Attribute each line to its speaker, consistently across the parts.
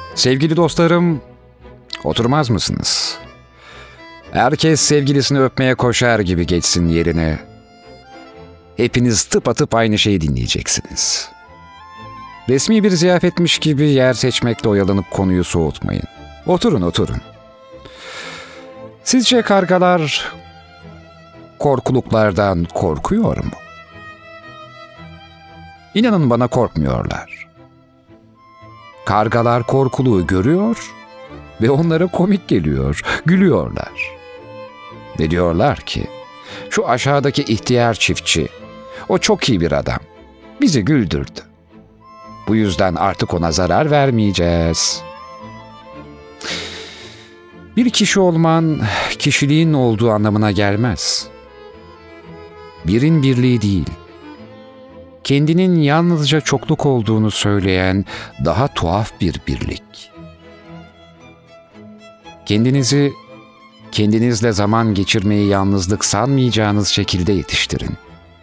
Speaker 1: Sevgili dostlarım, oturmaz mısınız? Herkes sevgilisini öpmeye koşar gibi geçsin yerine. Hepiniz tıpatıp aynı şeyi dinleyeceksiniz. Resmi bir ziyafetmiş gibi yer seçmekle oyalanıp konuyu soğutmayın. Oturun. Sizce kargalar korkuluklardan korkuyor mu? İnanın bana, korkmuyorlar. Kargalar korkuluğu görüyor ve onlara komik geliyor, gülüyorlar. Ve diyorlar ki, şu aşağıdaki ihtiyar çiftçi, o çok iyi bir adam, bizi güldürdü. Bu yüzden artık ona zarar vermeyeceğiz. Bir kişi olman, kişiliğin olduğu anlamına gelmez. Birin birliği değil, kendinin yalnızca çokluk olduğunu söyleyen daha tuhaf bir birlik. Kendinizi, kendinizle zaman geçirmeyi yalnızlık sanmayacağınız şekilde yetiştirin.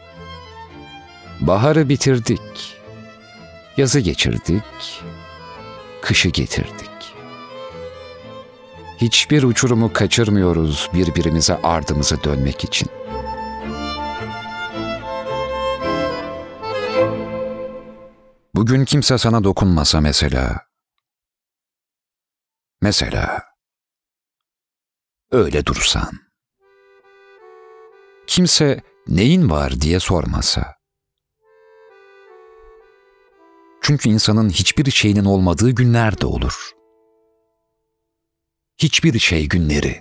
Speaker 1: Baharı bitirdik, yazı geçirdik, kışı getirdik. Hiçbir uçurumu kaçırmıyoruz birbirimize ardımızı dönmek için. Bugün kimse sana dokunmasa mesela öyle dursan, kimse neyin var diye sormasa. Çünkü insanın hiçbir şeyinin olmadığı günler de olur. Hiçbir şey günleri.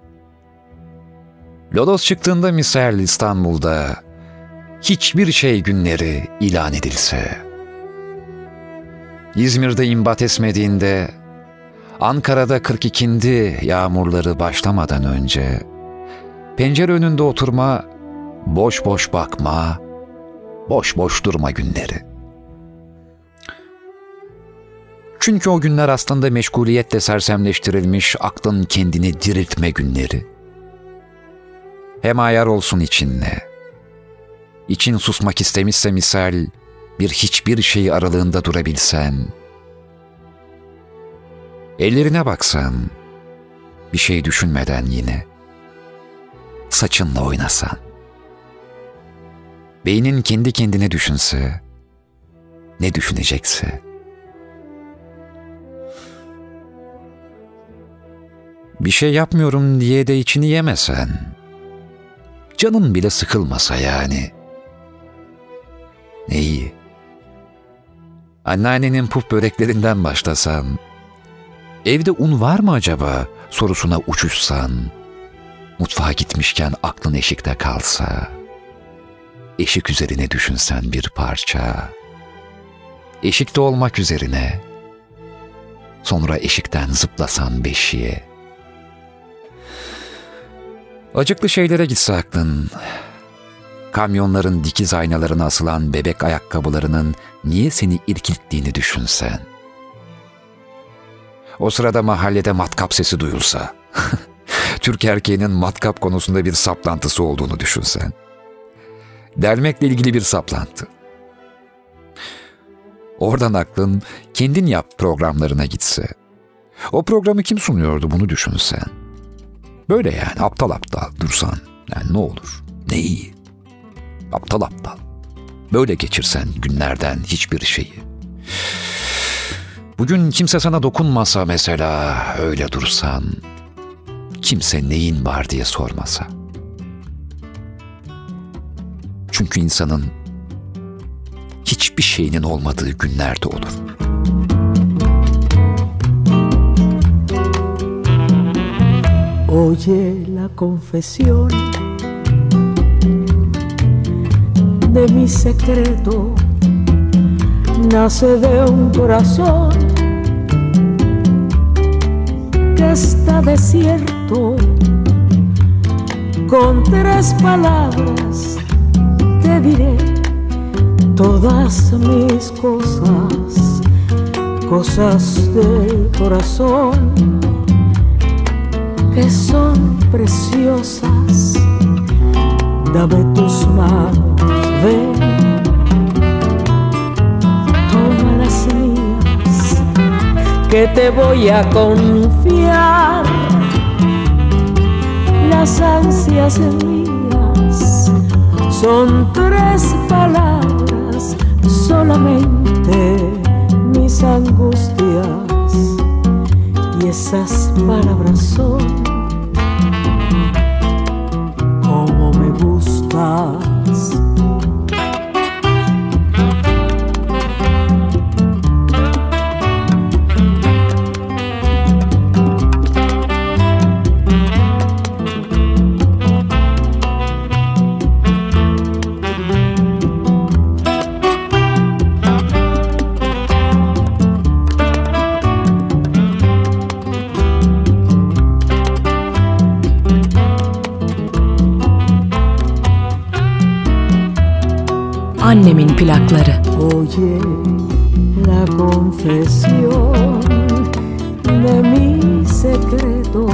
Speaker 1: Lodos çıktığında misal İstanbul'da hiçbir şey günleri ilan edilse, İzmir'de imbat esmediğinde, Ankara'da 42'indi yağmurları başlamadan önce, pencere önünde oturma, boş boş bakma, boş boş durma günleri. Çünkü o günler aslında meşguliyetle sersemleştirilmiş aklın kendini diriltme günleri. Hem ayar olsun içinle. İçin susmak istemişse misal, bir hiçbir şey aralığında durabilsen, ellerine baksan, bir şey düşünmeden yine, saçınla oynasan, beynin kendi kendine düşünse, ne düşünecekse, bir şey yapmıyorum diye de içini yemesen, canın bile sıkılmasa yani, ne iyi. Anneannenin puf böreklerinden başlasan, evde un var mı acaba sorusuna uçuşsan, mutfağa gitmişken aklın eşikte kalsa, eşik üzerine düşünsen bir parça, eşikte olmak üzerine, sonra eşikten zıplasan beşiğe. Acıklı şeylere gitse aklın, kamyonların dikiz aynalarına asılan bebek ayakkabılarının niye seni irkilttiğini düşünsen. O sırada mahallede matkap sesi duyulsa, Türk erkeğinin matkap konusunda bir saplantısı olduğunu düşünsen. Delmekle ilgili bir saplantı. Oradan aklın kendin yap programlarına gitse. O programı kim sunuyordu bunu düşünsen. Böyle yani aptal dursan. Yani ne olur, ne iyi. Aptal. Böyle geçirsen günlerden hiçbir şeyi. Bugün kimse sana dokunmasa mesela, öyle dursan, kimse neyin var diye sormasa. Çünkü insanın hiçbir şeyinin olmadığı günler de olur.
Speaker 2: Oye la confesión de mi secreto, nace de un corazón que está desierto. Con 3 palabras te diré todas mis cosas, cosas del corazón que son preciosas. Dame tus manos, ven, toma las mías, que te voy a confiar las ansias mías. Son 3 palabras solamente, mis angustias, y esas palabras son: como me gustas.
Speaker 3: Annemin plakları.
Speaker 2: Oye la confesión de mi secreto,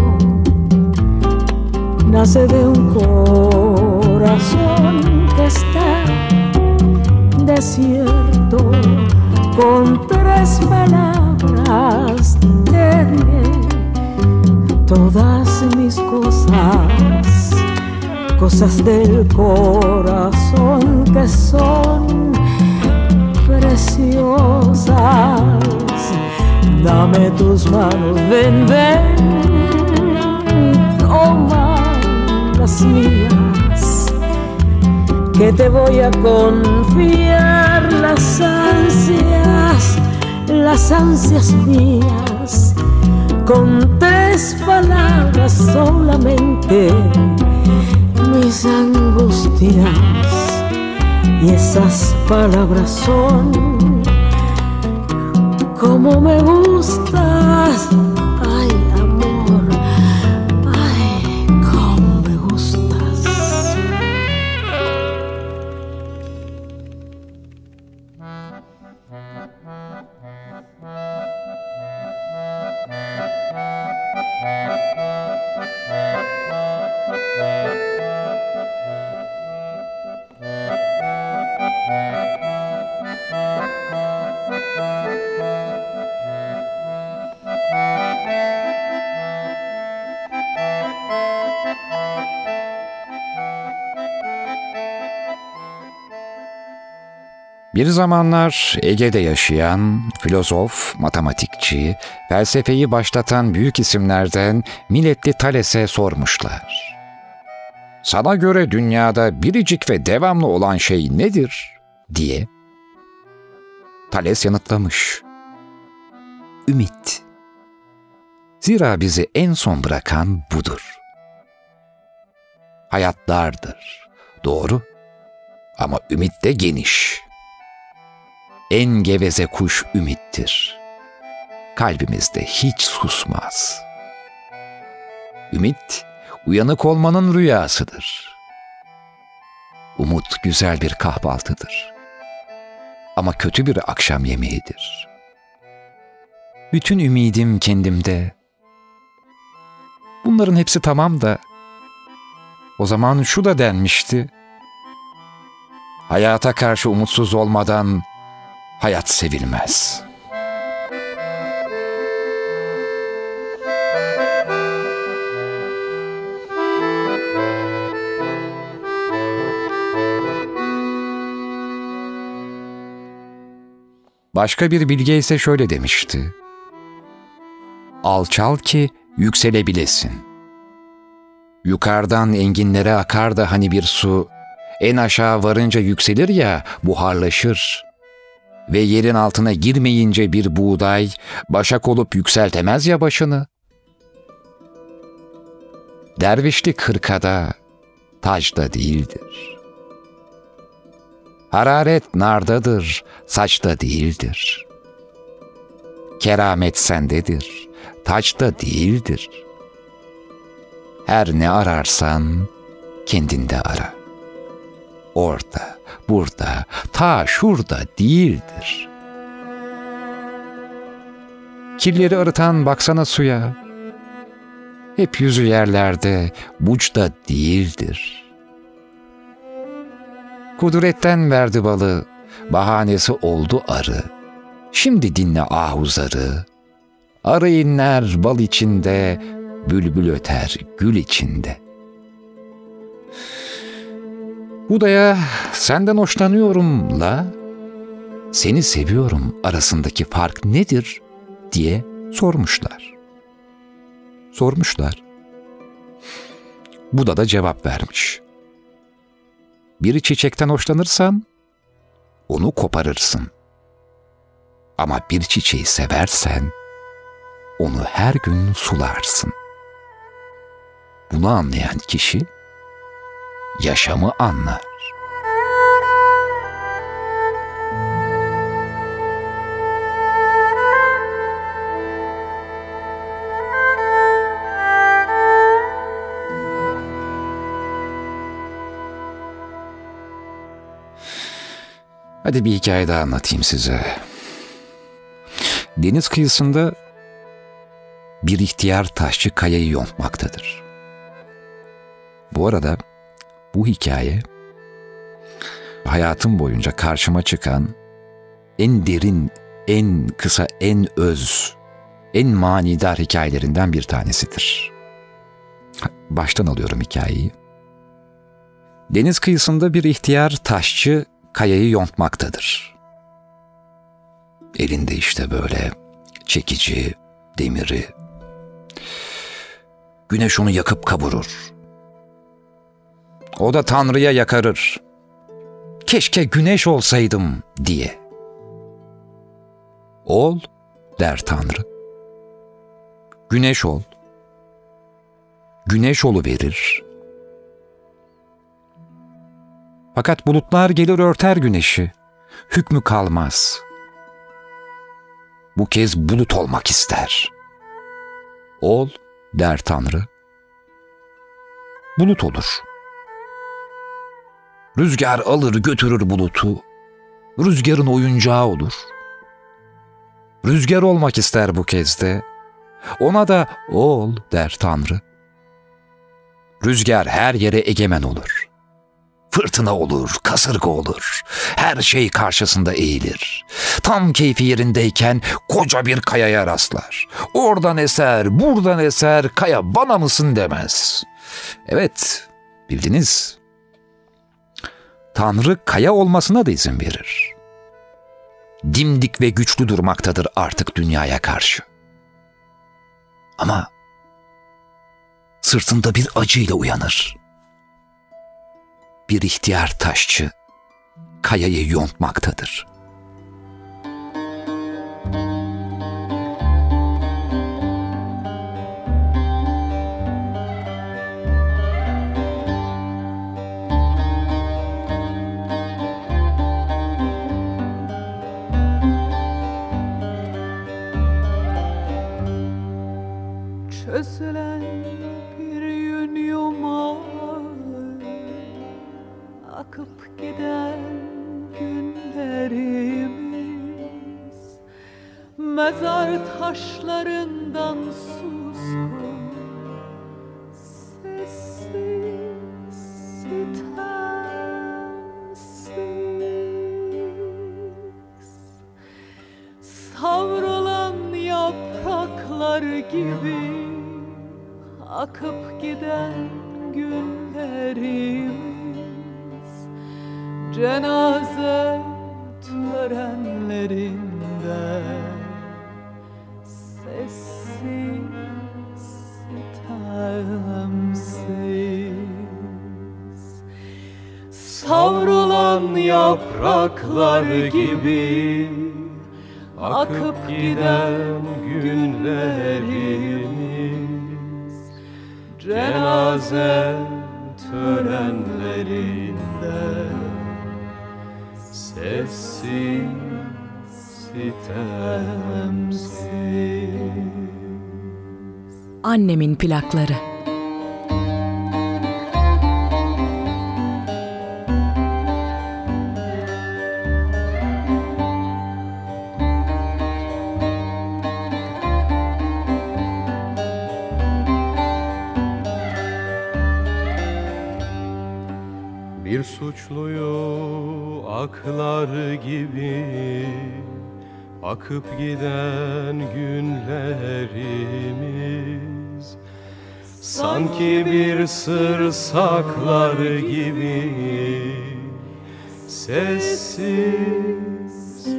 Speaker 2: nace de un corazón que está desierto. Con 3 palabras te diré todas mis cosas, cosas del corazón que son preciosas. Dame tus manos, ven, ven, toma las mías, que te voy a confiar las ansias mías. Con 3 palabras solamente, mis angustias, y esas palabras son: como me gustas. Ay, amor, ay, cómo me gustas.
Speaker 1: Bir zamanlar Ege'de yaşayan filozof, matematikçi, felsefeyi başlatan büyük isimlerden milletli Thales'e sormuşlar: "Sana göre dünyada biricik ve devamlı olan şey nedir?" diye. Thales yanıtlamış: "Ümit. Zira bizi en son bırakan budur. Hayat dardır, doğru, ama ümit de geniş. En geveze kuş ümittir. Kalbimizde hiç susmaz. Ümit, uyanık olmanın rüyasıdır. Umut güzel bir kahvaltıdır. Ama kötü bir akşam yemeğidir. Bütün ümidim kendimde. Bunların hepsi tamam da, o zaman şu da denmişti: hayata karşı umutsuz olmadan hayat sevilmez." Başka bir bilge ise şöyle demişti: "Alçal ki yükselebilesin. Yukarıdan enginlere akar da hani bir su, en aşağı varınca yükselir ya, buharlaşır. Ve yerin altına girmeyince bir buğday, başak olup yükseltemez ya başını. Dervişlik hırkada, tacda değildir. Hararet nardadır, saçta değildir. Keramet sendedir, taçta değildir. Her ne ararsan kendinde ara. Orada, burada, ta şurada değildir. Kirleri arıtan baksana suya. Hep yüzü yerlerde, buçta değildir. Kudretten verdi balı, bahanesi oldu arı. Şimdi dinle ahuzarı, Arı inler bal içinde, bülbül öter gül içinde. Buda'ya senden hoşlanıyorumla seni seviyorum arasındaki fark nedir diye sormuşlar. Buda da cevap vermiş. Bir çiçekten hoşlanırsan onu koparırsın. Ama bir çiçeği seversen onu her gün sularsın. Bunu anlayan kişi yaşamı anlar. Hadi bir hikaye daha anlatayım size. Deniz kıyısında bir ihtiyar taşçı kayayı yontmaktadır. Bu arada bu hikaye hayatım boyunca karşıma çıkan en derin, en kısa, en öz, en manidar hikayelerinden bir tanesidir. Baştan alıyorum hikayeyi. Deniz kıyısında bir ihtiyar taşçı kayayı yontmaktadır. Elinde işte böyle çekici, demiri. Güneş onu yakıp kavurur. O da Tanrı'ya yakarır. Keşke güneş olsaydım diye. Ol der Tanrı. Güneş ol. Güneş oluverir. Fakat bulutlar gelir örter güneşi. Hükmü kalmaz. Bu kez bulut olmak ister. Ol der Tanrı. Bulut olur. Rüzgar alır götürür bulutu. Rüzgarın oyuncağı olur. Rüzgar olmak ister bu kez de. Ona da ol der Tanrı. Rüzgar her yere egemen olur. Fırtına olur, kasırga olur. Her şey karşısında eğilir. Tam keyfi yerindeyken koca bir kayaya rastlar. Oradan eser, buradan eser, kaya bana mısın demez. Evet, bildiniz. Tanrı kaya olmasına da izin verir. Dimdik ve güçlü durmaktadır artık dünyaya karşı. Ama sırtında bir acıyla uyanır. Bir ihtiyar taşçı kayayı yontmaktadır.
Speaker 2: Çözülen bir yün yumağı, akıp giden günlerimiz, mezar taşlarından suskun, sessiz, sitemsiz, savrulan yapraklar gibi akıp giden günlerimiz, cenaze törenlerinde sessiz, sitemsiz, savrulan yapraklar gibi akıp giden günlerimiz, cenaze törenlerinde sessiz, sitemsiz.
Speaker 3: Annemin plakları.
Speaker 4: Bir suçluyu aklar gibi Akıp giden günlerimiz sanki bir sır saklar gibi, sessiz,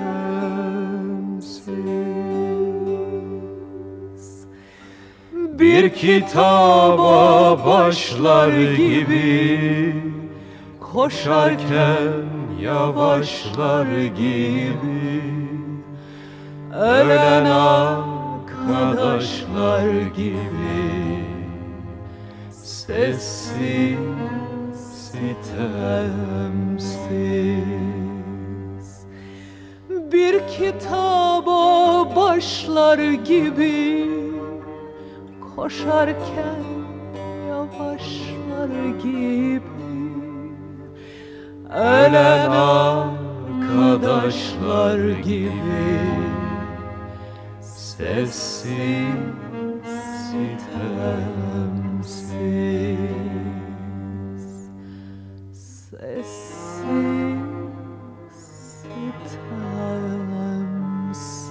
Speaker 4: sitemsiz. Bir kitaba başlar gibi, koşarken yavaşlar gibi, ölen arkadaşlar gibi, sessiz, sitemsiz. Bir kitaba başlar gibi, koşarken yavaşlar gibi, ölen arkadaşlar gibi, sessiz, sitemsiz. Sessiz, sitemsiz.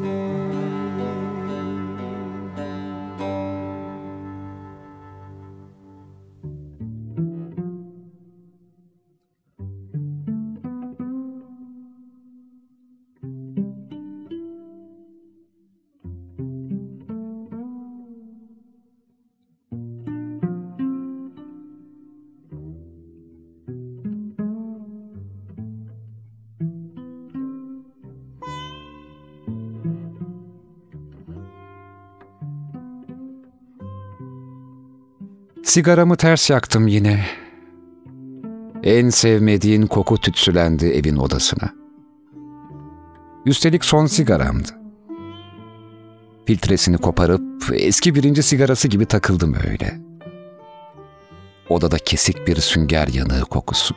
Speaker 1: Sigaramı ters yaktım yine. En sevmediğin koku tütsülendi evin odasına. Üstelik son sigaramdı. Filtresini koparıp eski birinci sigarası gibi takıldım öyle. Odada kesik bir sünger yanığı kokusu.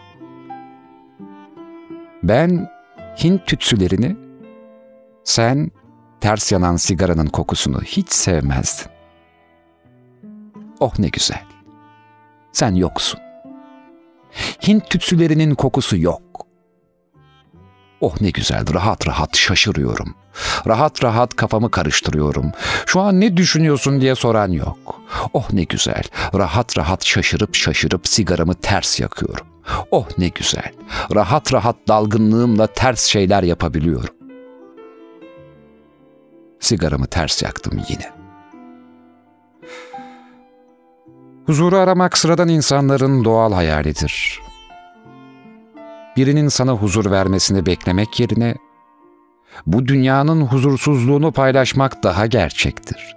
Speaker 1: Ben Hint tütsülerini, sen ters yanan sigaranın kokusunu hiç sevmezdin. Oh ne güzel. Sen yoksun. Hint tütsülerinin kokusu yok. Oh ne güzel, rahat rahat şaşırıyorum. Rahat rahat kafamı karıştırıyorum. Şu an ne düşünüyorsun diye soran yok. Oh ne güzel, rahat rahat şaşırıp sigaramı ters yakıyorum. Oh ne güzel, rahat rahat dalgınlığımla ters şeyler yapabiliyorum. Sigaramı ters yaktım yine. Huzuru aramak sıradan insanların doğal hayalidir. Birinin sana huzur vermesini beklemek yerine bu dünyanın huzursuzluğunu paylaşmak daha gerçektir.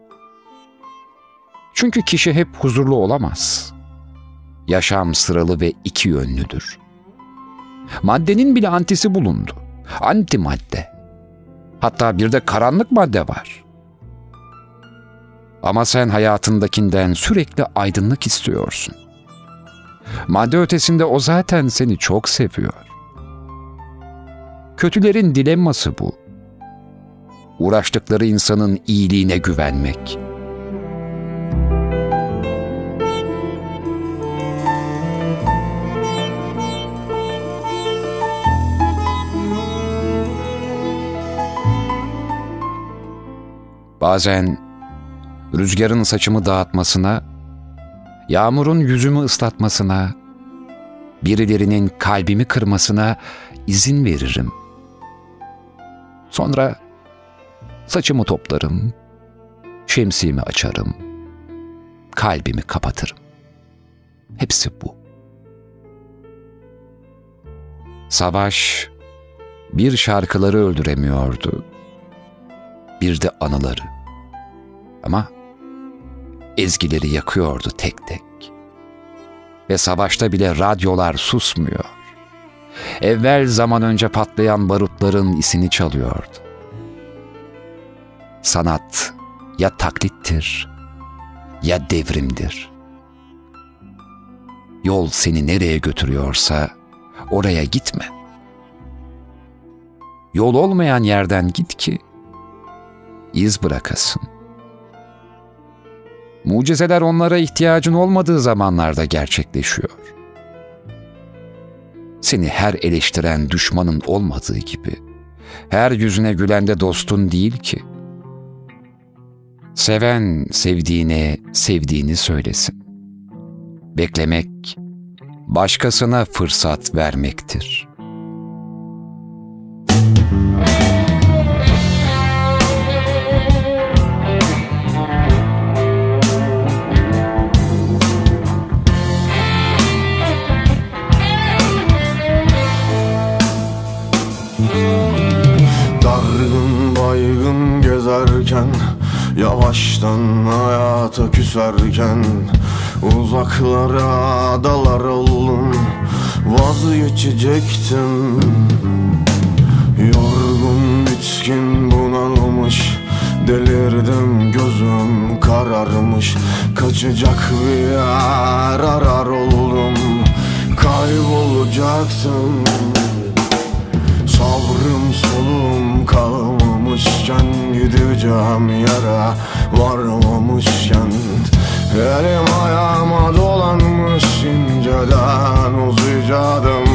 Speaker 1: Çünkü kişi hep huzurlu olamaz. Yaşam sıralı ve iki yönlüdür. Maddenin bile antisi bulundu. Antimadde. Hatta bir de karanlık madde var. Ama sen hayatındakinden sürekli aydınlık istiyorsun. Madde ötesinde o zaten seni çok seviyor. Kötülerin dilemması bu. Uğraştıkları insanın iyiliğine güvenmek. Bazen rüzgarın saçımı dağıtmasına, yağmurun yüzümü ıslatmasına, birilerinin kalbimi kırmasına izin veririm. Sonra saçımı toplarım, şemsiyemi açarım, kalbimi kapatırım. Hepsi bu. Savaş bir şarkıları öldüremiyordu, bir de anıları. Ama ezgileri yakıyordu tek tek. Ve savaşta bile radyolar susmuyor. Evvel zaman önce patlayan barutların isini çalıyordu. Sanat ya taklittir ya devrimdir. Yol seni nereye götürüyorsa oraya gitme. Yol olmayan yerden git ki iz bırakasın. Mucizeler onlara ihtiyacın olmadığı zamanlarda gerçekleşiyor. Seni her eleştiren düşmanın olmadığı gibi her yüzüne gülen de dostun değil ki. Seven sevdiğine sevdiğini söylesin. Beklemek, başkasına fırsat vermektir.
Speaker 5: Dargın baygın gezerken, yavaştan hayata küserken, uzaklara dalar oldum, vazgeçecektim. Yorgun, bitkin, bunalmış, delirdim, gözüm kararmış. Kaçacak bir yer arar oldum, kaybolacaktım. Sabrım solum kalmamışken, gideceğim yere varmamışken, elim ayağıma dolanmış, inceden uzayacaktım.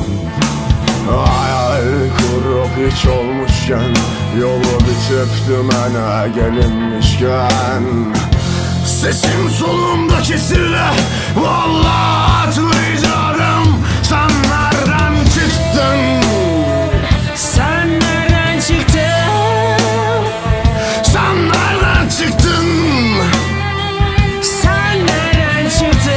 Speaker 5: Hayal kurup hiç olmuşken, yolu bitip dümene gelinmişken, sesim solumda kesildi, vallahi atlayacaktım. Sen nereden çıktın?
Speaker 2: Sen nereden çıktın?
Speaker 5: Sen nereden çıktın?
Speaker 2: Sen nereden çıktın?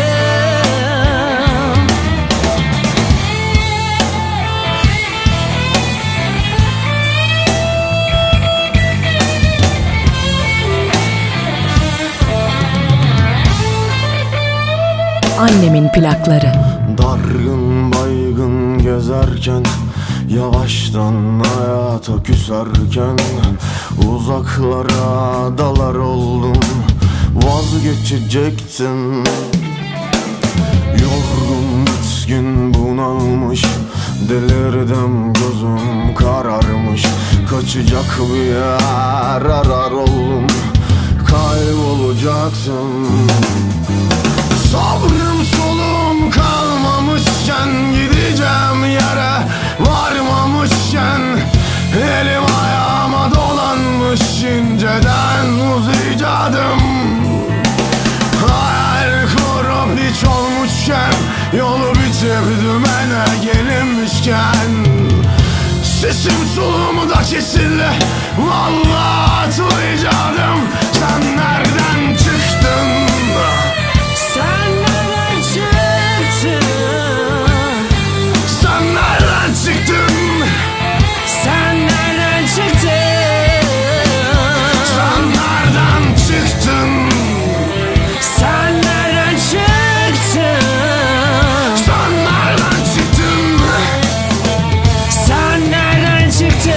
Speaker 3: Annemin plakları.
Speaker 5: Dargın baygın gezerken, yavaştan hayata küserken, uzaklara dalar oldum, vazgeçecektim. Yorgun, bitkin, bunalmış, delirdim, gözüm kararmış. Kaçacak bir yer arar oldum, kaybolacaktım. Sabrım solum kalmamışken, gideceğim yere varmamışken, elim ayağıma dolanmış, inceden uzayacaktım. Hayal kurup hiç olmuşken, yolu bitip dümene gelinmişken, sesim solumu da kesildi, vallahi atlayacaktım. Sen nereden çıktın?
Speaker 2: Sen nereden çıktın?
Speaker 5: Sen nereden çıktın?
Speaker 2: Sen nereden çıktın?
Speaker 5: Sen nereden çıktın?
Speaker 2: Sen nereden çıktın?
Speaker 5: Sen nereden çıktın?
Speaker 2: Sen nereden çıktın?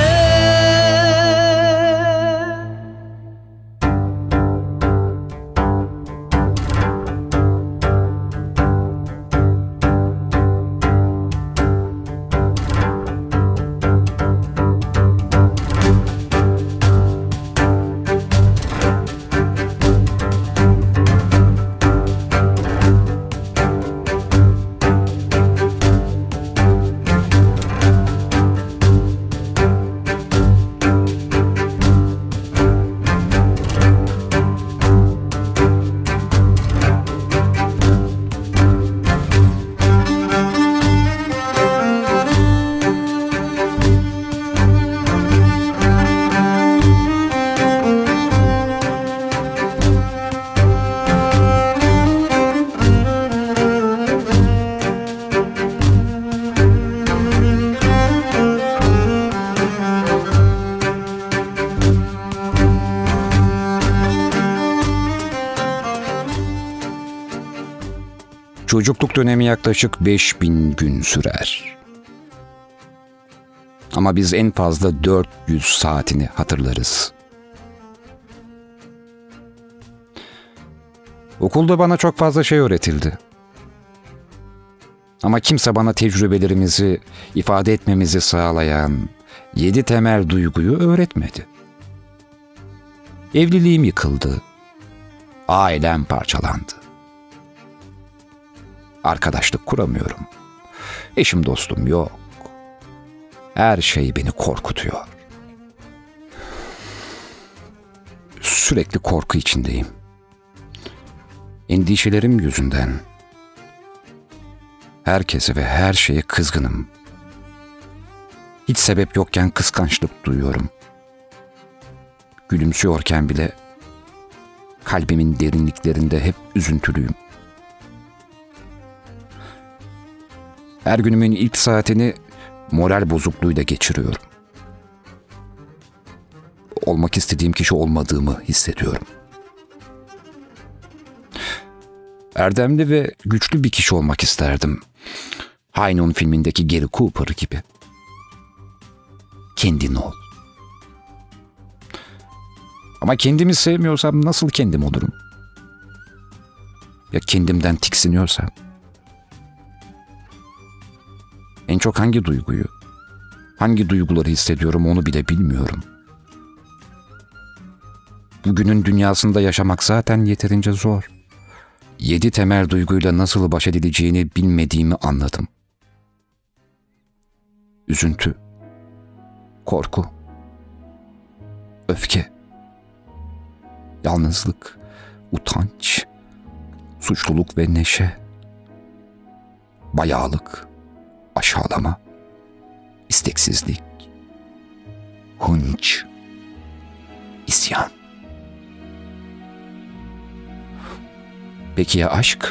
Speaker 1: Çocukluk dönemi yaklaşık 5000 gün sürer. Ama biz en fazla 400 saatini hatırlarız. Okulda bana çok fazla şey öğretildi. Ama kimse bana tecrübelerimizi ifade etmemizi sağlayan 7 temel duyguyu öğretmedi. Evliliğim yıkıldı. Ailem parçalandı. Arkadaşlık kuramıyorum. Eşim dostum yok. Her şey beni korkutuyor. Sürekli korku içindeyim. Endişelerim yüzünden herkese ve her şeye kızgınım. Hiç sebep yokken kıskançlık duyuyorum. Gülümsüyorken bile kalbimin derinliklerinde hep üzüntülüyüm. Her günümün ilk saatini moral bozukluğuyla geçiriyorum. Olmak istediğim kişi olmadığımı hissediyorum. Erdemli ve güçlü bir kişi olmak isterdim. High Noon filmindeki Gary Cooper gibi. Kendin ol. Ama kendimi sevmiyorsam nasıl kendim olurum? Ya kendimden tiksiniyorsam? En çok hangi duyguyu, hangi duyguları hissediyorum onu bile bilmiyorum. Bugünün dünyasında yaşamak zaten yeterince zor. 7 temel duyguyla nasıl baş edileceğini bilmediğimi anladım. Üzüntü, korku, öfke, yalnızlık, utanç, suçluluk ve neşe, bayağılık, aşağılama, isteksizlik, hınç, isyan. Peki ya aşk?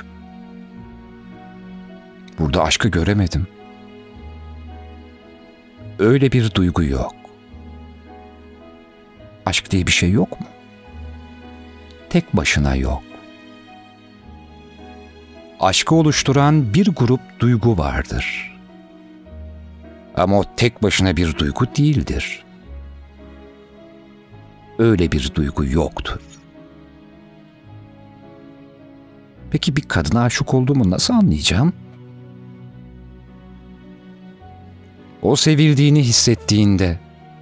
Speaker 1: Burada aşkı göremedim. Öyle bir duygu yok. Aşk diye bir şey yok mu? Tek başına yok. Aşkı oluşturan bir grup duygu vardır. Ama o tek başına bir duygu değildir. Öyle bir duygu yoktur. Peki bir kadına aşık olduğumu nasıl anlayacağım? O sevildiğini hissettiğinde,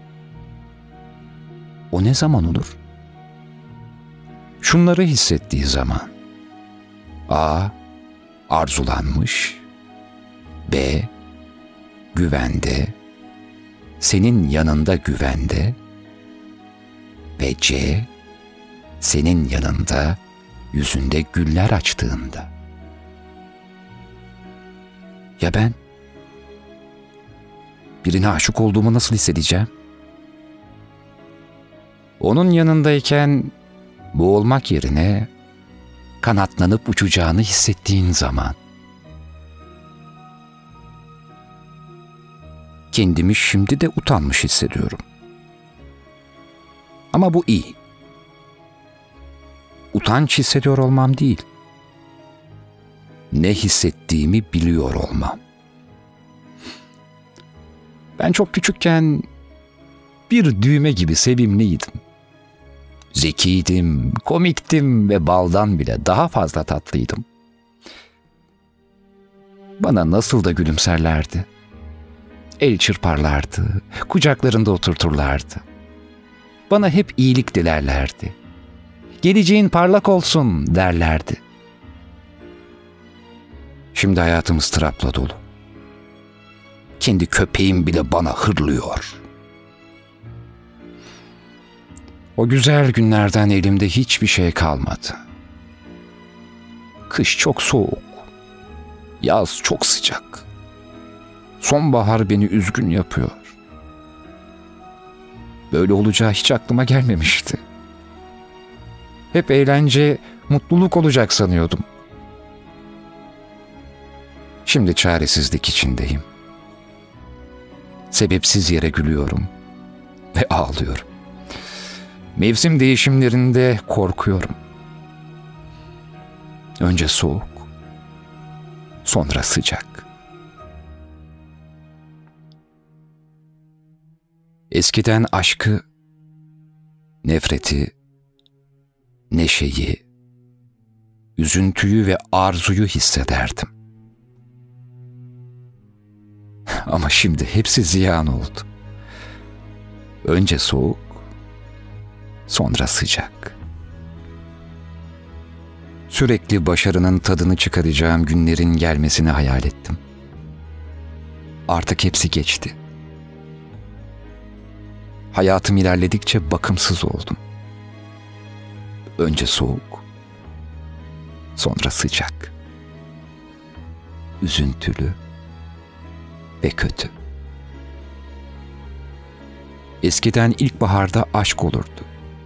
Speaker 1: o ne zaman olur? Şunları hissettiği zaman. A. Arzulanmış. B. Güvende. Senin yanında güvende. Ve C. Senin yanında yüzünde güller açtığında. Ya ben? Birine aşık olduğumu nasıl hissedeceğim? Onun yanındayken boğulmak yerine kanatlanıp uçacağını hissettiğin zaman. Kendimi şimdi de utanmış hissediyorum. Ama bu iyi. Utanç hissediyor olmam değil. Ne hissettiğimi biliyor olmam. Ben çok küçükken bir düğme gibi sevimliydim. Zekiydim, komiktim ve baldan bile daha fazla tatlıydım. Bana nasıl da gülümserlerdi. El çırparlardı, kucaklarında oturturlardı. Bana hep iyilik dilerlerdi. Geleceğin parlak olsun derlerdi. Şimdi hayatım ıstırapla dolu. Kendi köpeğim bile bana hırlıyor. O güzel günlerden elimde hiçbir şey kalmadı. Kış çok soğuk. Yaz çok sıcak. Sonbahar beni üzgün yapıyor. Böyle olacağı hiç aklıma gelmemişti. Hep eğlence, mutluluk olacak sanıyordum. Şimdi çaresizlik içindeyim. Sebepsiz yere gülüyorum ve ağlıyorum. Mevsim değişimlerinde korkuyorum. Önce soğuk, sonra sıcak. Eskiden aşkı, nefreti, neşeyi, üzüntüyü ve arzuyu hissederdim. Ama şimdi hepsi ziyan oldu. Önce soğuk, sonra sıcak. Sürekli başarının tadını çıkaracağım günlerin gelmesini hayal ettim. Artık hepsi geçti. Hayatım ilerledikçe bakımsız oldum. Önce soğuk, sonra sıcak, üzüntülü ve kötü. Eskiden ilkbaharda aşk olurdu.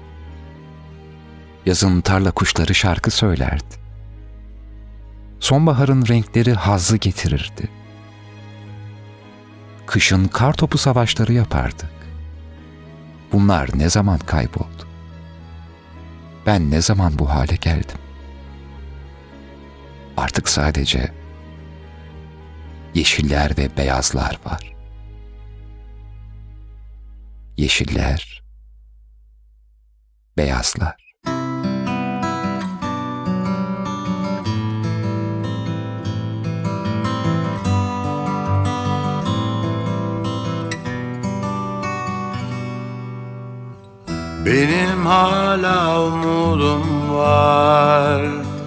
Speaker 1: Yazın tarla kuşları şarkı söylerdi. Sonbaharın renkleri hazzı getirirdi. Kışın kartopu savaşları yapardık. Bunlar ne zaman kayboldu? Ben ne zaman bu hale geldim? Artık sadece yeşiller ve beyazlar var. Yeşiller, beyazlar.
Speaker 5: Benim hala umudum var.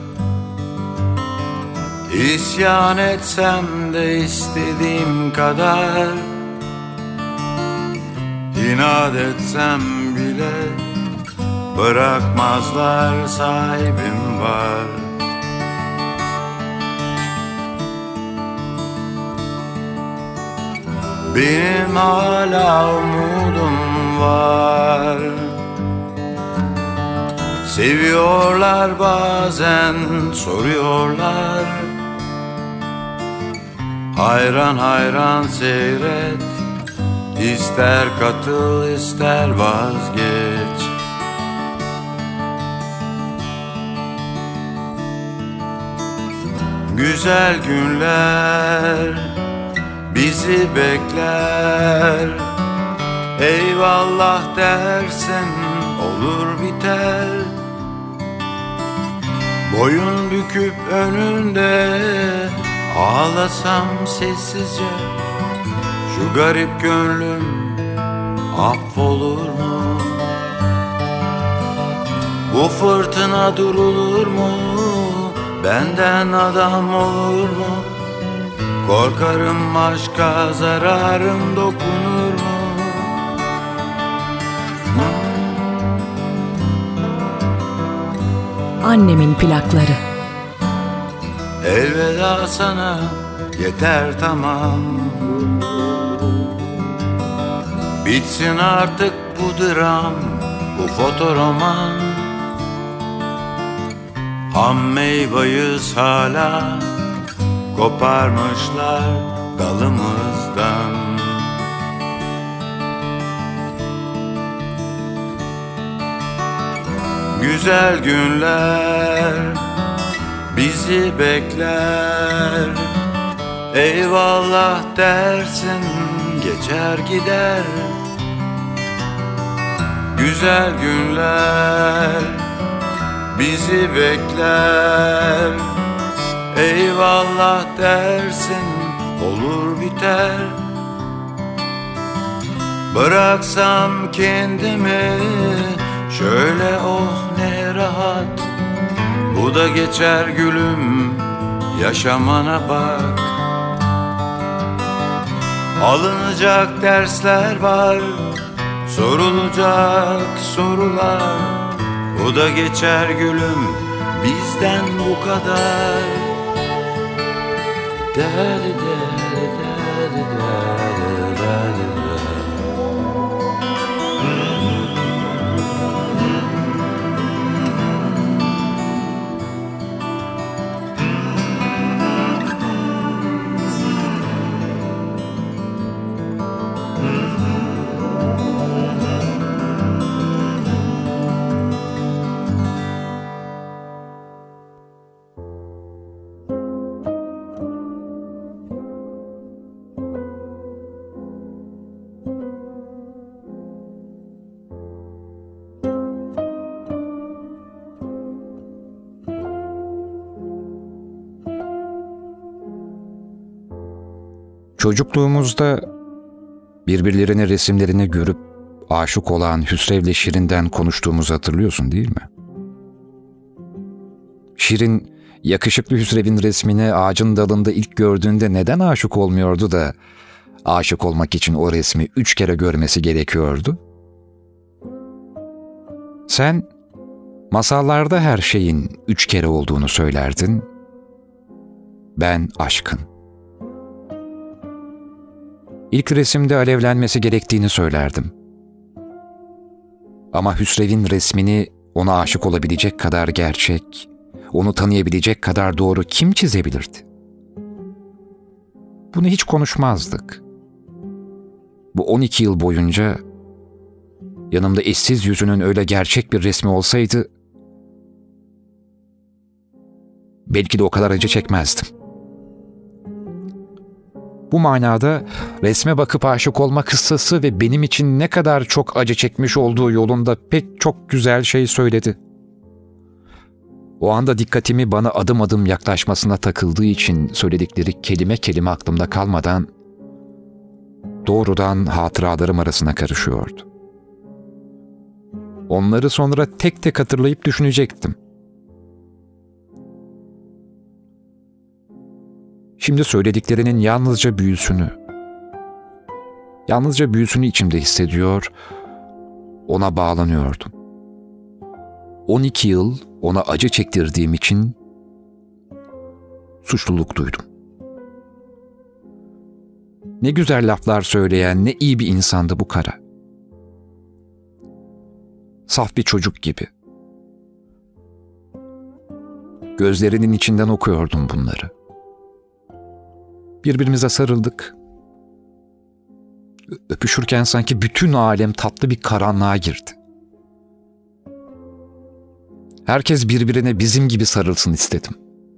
Speaker 5: İsyan etsem de istediğim kadar, İnat etsem bile bırakmazlar, sahibim var. Benim hala umudum var. Seviyorlar bazen, soruyorlar. Hayran hayran seyret, İster katıl ister vazgeç. Güzel günler bizi bekler. Eyvallah dersen olur biter. Boyun büküp önünde ağlasam sessizce, şu garip gönlüm affolur mu? Bu fırtına durulur mu? Benden adam olur mu? Korkarım aşka zararım dokunur mu?
Speaker 3: Annemin plakları.
Speaker 5: Elveda sana, yeter tamam. Bitsin artık bu dram, bu fotoroman. Ham meyveyiz hala, koparmışlar dalımızdan. Güzel günler bizi bekler. Eyvallah dersin, geçer gider. Güzel günler bizi bekler. Eyvallah dersin, olur biter. Bıraksam kendimi şöyle, oh ne rahat. Bu da geçer gülüm, yaşamana bak. Alınacak dersler var, sorulacak sorular. Bu da geçer gülüm, bizden bu kadar. Dadi dadi dadi dadi dadi.
Speaker 1: Çocukluğumuzda birbirlerinin resimlerini görüp aşık olan Hüsrev'le Şirin'den konuştuğumuzu hatırlıyorsun değil mi? Şirin, yakışıklı Hüsrev'in resmini ağacın dalında ilk gördüğünde neden aşık olmuyordu da aşık olmak için o resmi 3 kere görmesi gerekiyordu? Sen Masallarda her şeyin 3 kere olduğunu söylerdin. Ben aşkın. İlk resimde alevlenmesi gerektiğini söylerdim. Ama Hüsrev'in resmini ona aşık olabilecek kadar gerçek, onu tanıyabilecek kadar doğru kim çizebilirdi? Bunu hiç konuşmazdık. Bu 12 yıl boyunca yanımda eşsiz yüzünün öyle gerçek bir resmi olsaydı belki de o kadar acı çekmezdim. Bu manada resme bakıp aşık olma kıssası ve benim için ne kadar çok acı çekmiş olduğu yolunda pek çok güzel şey söyledi. O anda dikkatimi bana adım adım yaklaşmasına takıldığı için söyledikleri kelime kelime aklımda kalmadan doğrudan hatıralarım arasına karışıyordu. Onları sonra tek tek hatırlayıp düşünecektim. Şimdi söylediklerinin yalnızca büyüsünü içimde hissediyor, ona bağlanıyordum. 12 yıl ona acı çektirdiğim için suçluluk duydum. Ne güzel laflar söyleyen, ne iyi bir insandı bu kara. Saf bir çocuk gibi. Gözlerinin içinden okuyordum bunları. Birbirimize sarıldık. Öpüşürken sanki bütün alem tatlı bir karanlığa girdi. Herkes birbirine bizim gibi sarılsın istedim.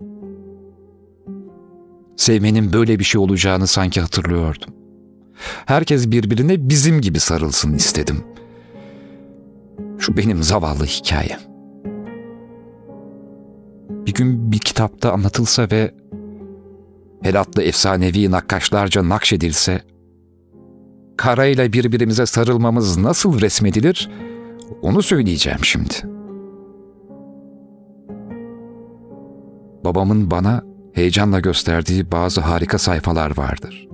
Speaker 1: Sevmenin böyle bir şey olacağını sanki hatırlıyordum. Herkes birbirine bizim gibi sarılsın istedim. Şu benim zavallı hikayem. Bir gün bir kitapta anlatılsa ve Heratlı efsanevi nakkaşlarca nakşedilse, karayla birbirimize sarılmamız nasıl resmedilir, onu söyleyeceğim şimdi. Babamın bana heyecanla gösterdiği bazı harika sayfalar vardır.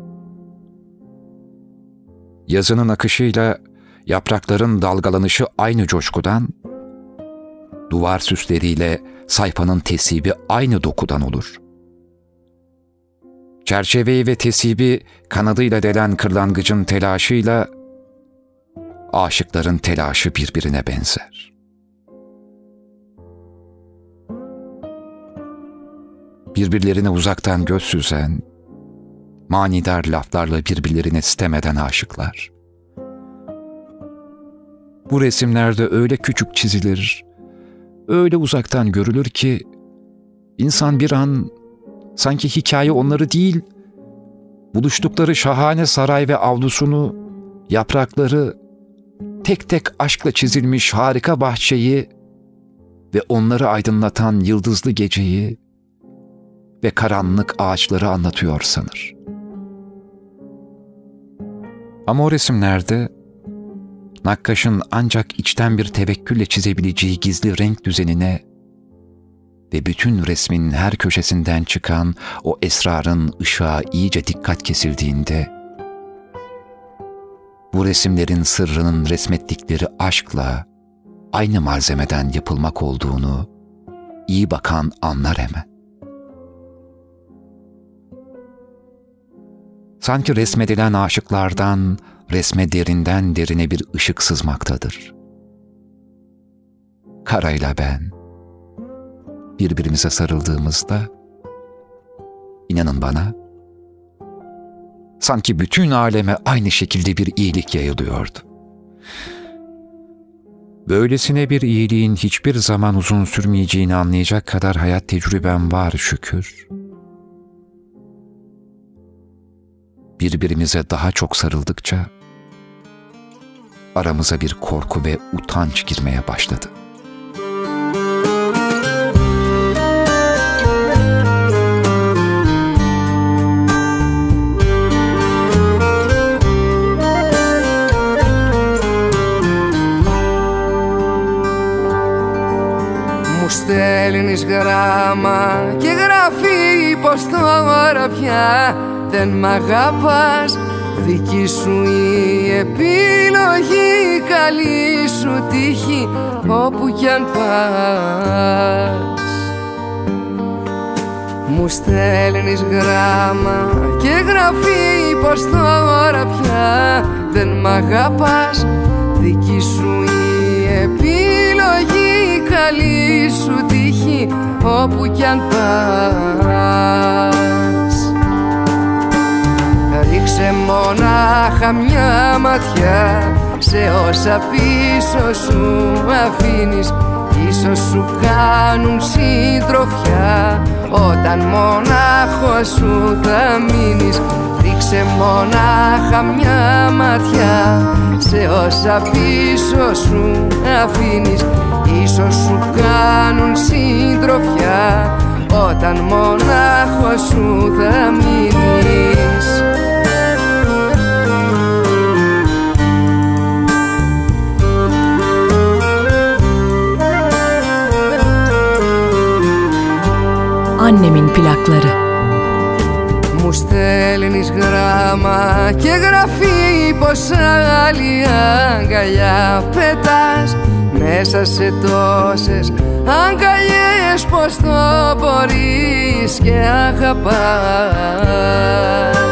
Speaker 1: Yazının akışıyla yaprakların dalgalanışı aynı coşkudan, duvar süsleriyle sayfanın tesibi aynı dokudan olur. Çerçeveyi ve tesibi kanadıyla delen kırlangıcın telaşıyla aşıkların telaşı birbirine benzer. Birbirlerine uzaktan göz süzen, manidar laflarla birbirlerine sitem eden aşıklar. Bu resimlerde öyle küçük çizilir, öyle uzaktan görülür ki insan bir an sanki hikaye onları değil, buluştukları şahane saray ve avlusunu, yaprakları, tek tek aşkla çizilmiş harika bahçeyi ve onları aydınlatan yıldızlı geceyi ve karanlık ağaçları anlatıyor sanır. Ama o resimlerde nakkaşın ancak içten bir tevekkülle çizebileceği gizli renk düzenine ve bütün resmin her köşesinden çıkan o esrarın ışığa iyice dikkat kesildiğinde, bu resimlerin sırrının resmettikleri aşkla aynı malzemeden yapılmak olduğunu iyi bakan anlar hemen. Sanki resmedilen aşıklardan resme derinden derine bir ışık sızmaktadır. Karayla ben birbirimize sarıldığımızda, inanın bana, sanki bütün aleme aynı şekilde bir iyilik yayılıyordu. Böylesine bir iyiliğin hiçbir zaman uzun sürmeyeceğini anlayacak kadar hayat tecrübem var şükür. Birbirimize daha çok sarıldıkça aramıza bir korku ve utanç girmeye başladı.
Speaker 6: Μου στέλνεις γράμμα και γράφει πως τώρα πια δεν μ' αγαπάς, δική σου η επιλογή, καλή σου τύχη όπου κι αν πας. Μου στέλνεις γράμμα και γραφή πως τώρα πια δεν μ' αγαπάς, δική σου η επιλογή, καλή σου τύχη όπου κι αν πας. Ρίξε μονάχα μια ματιά σε όσα πίσω σου αφήνεις, ίσως σου κάνουν συντροφιά όταν μονάχος σου θα μείνεις. Ρίξε μονάχα μια ματιά σε όσα πίσω σου αφήνεις, ίσως σου κάνουν συντροφιά όταν μονάχος σου θα μείνεις.
Speaker 3: Annemin plakları.
Speaker 6: Μου στέλνεις γράμμα και γραφή πως άλλη αγκαλιά πετάς, μέσα σε τόσες αγκαλιές πως το μπορείς και αγαπάς.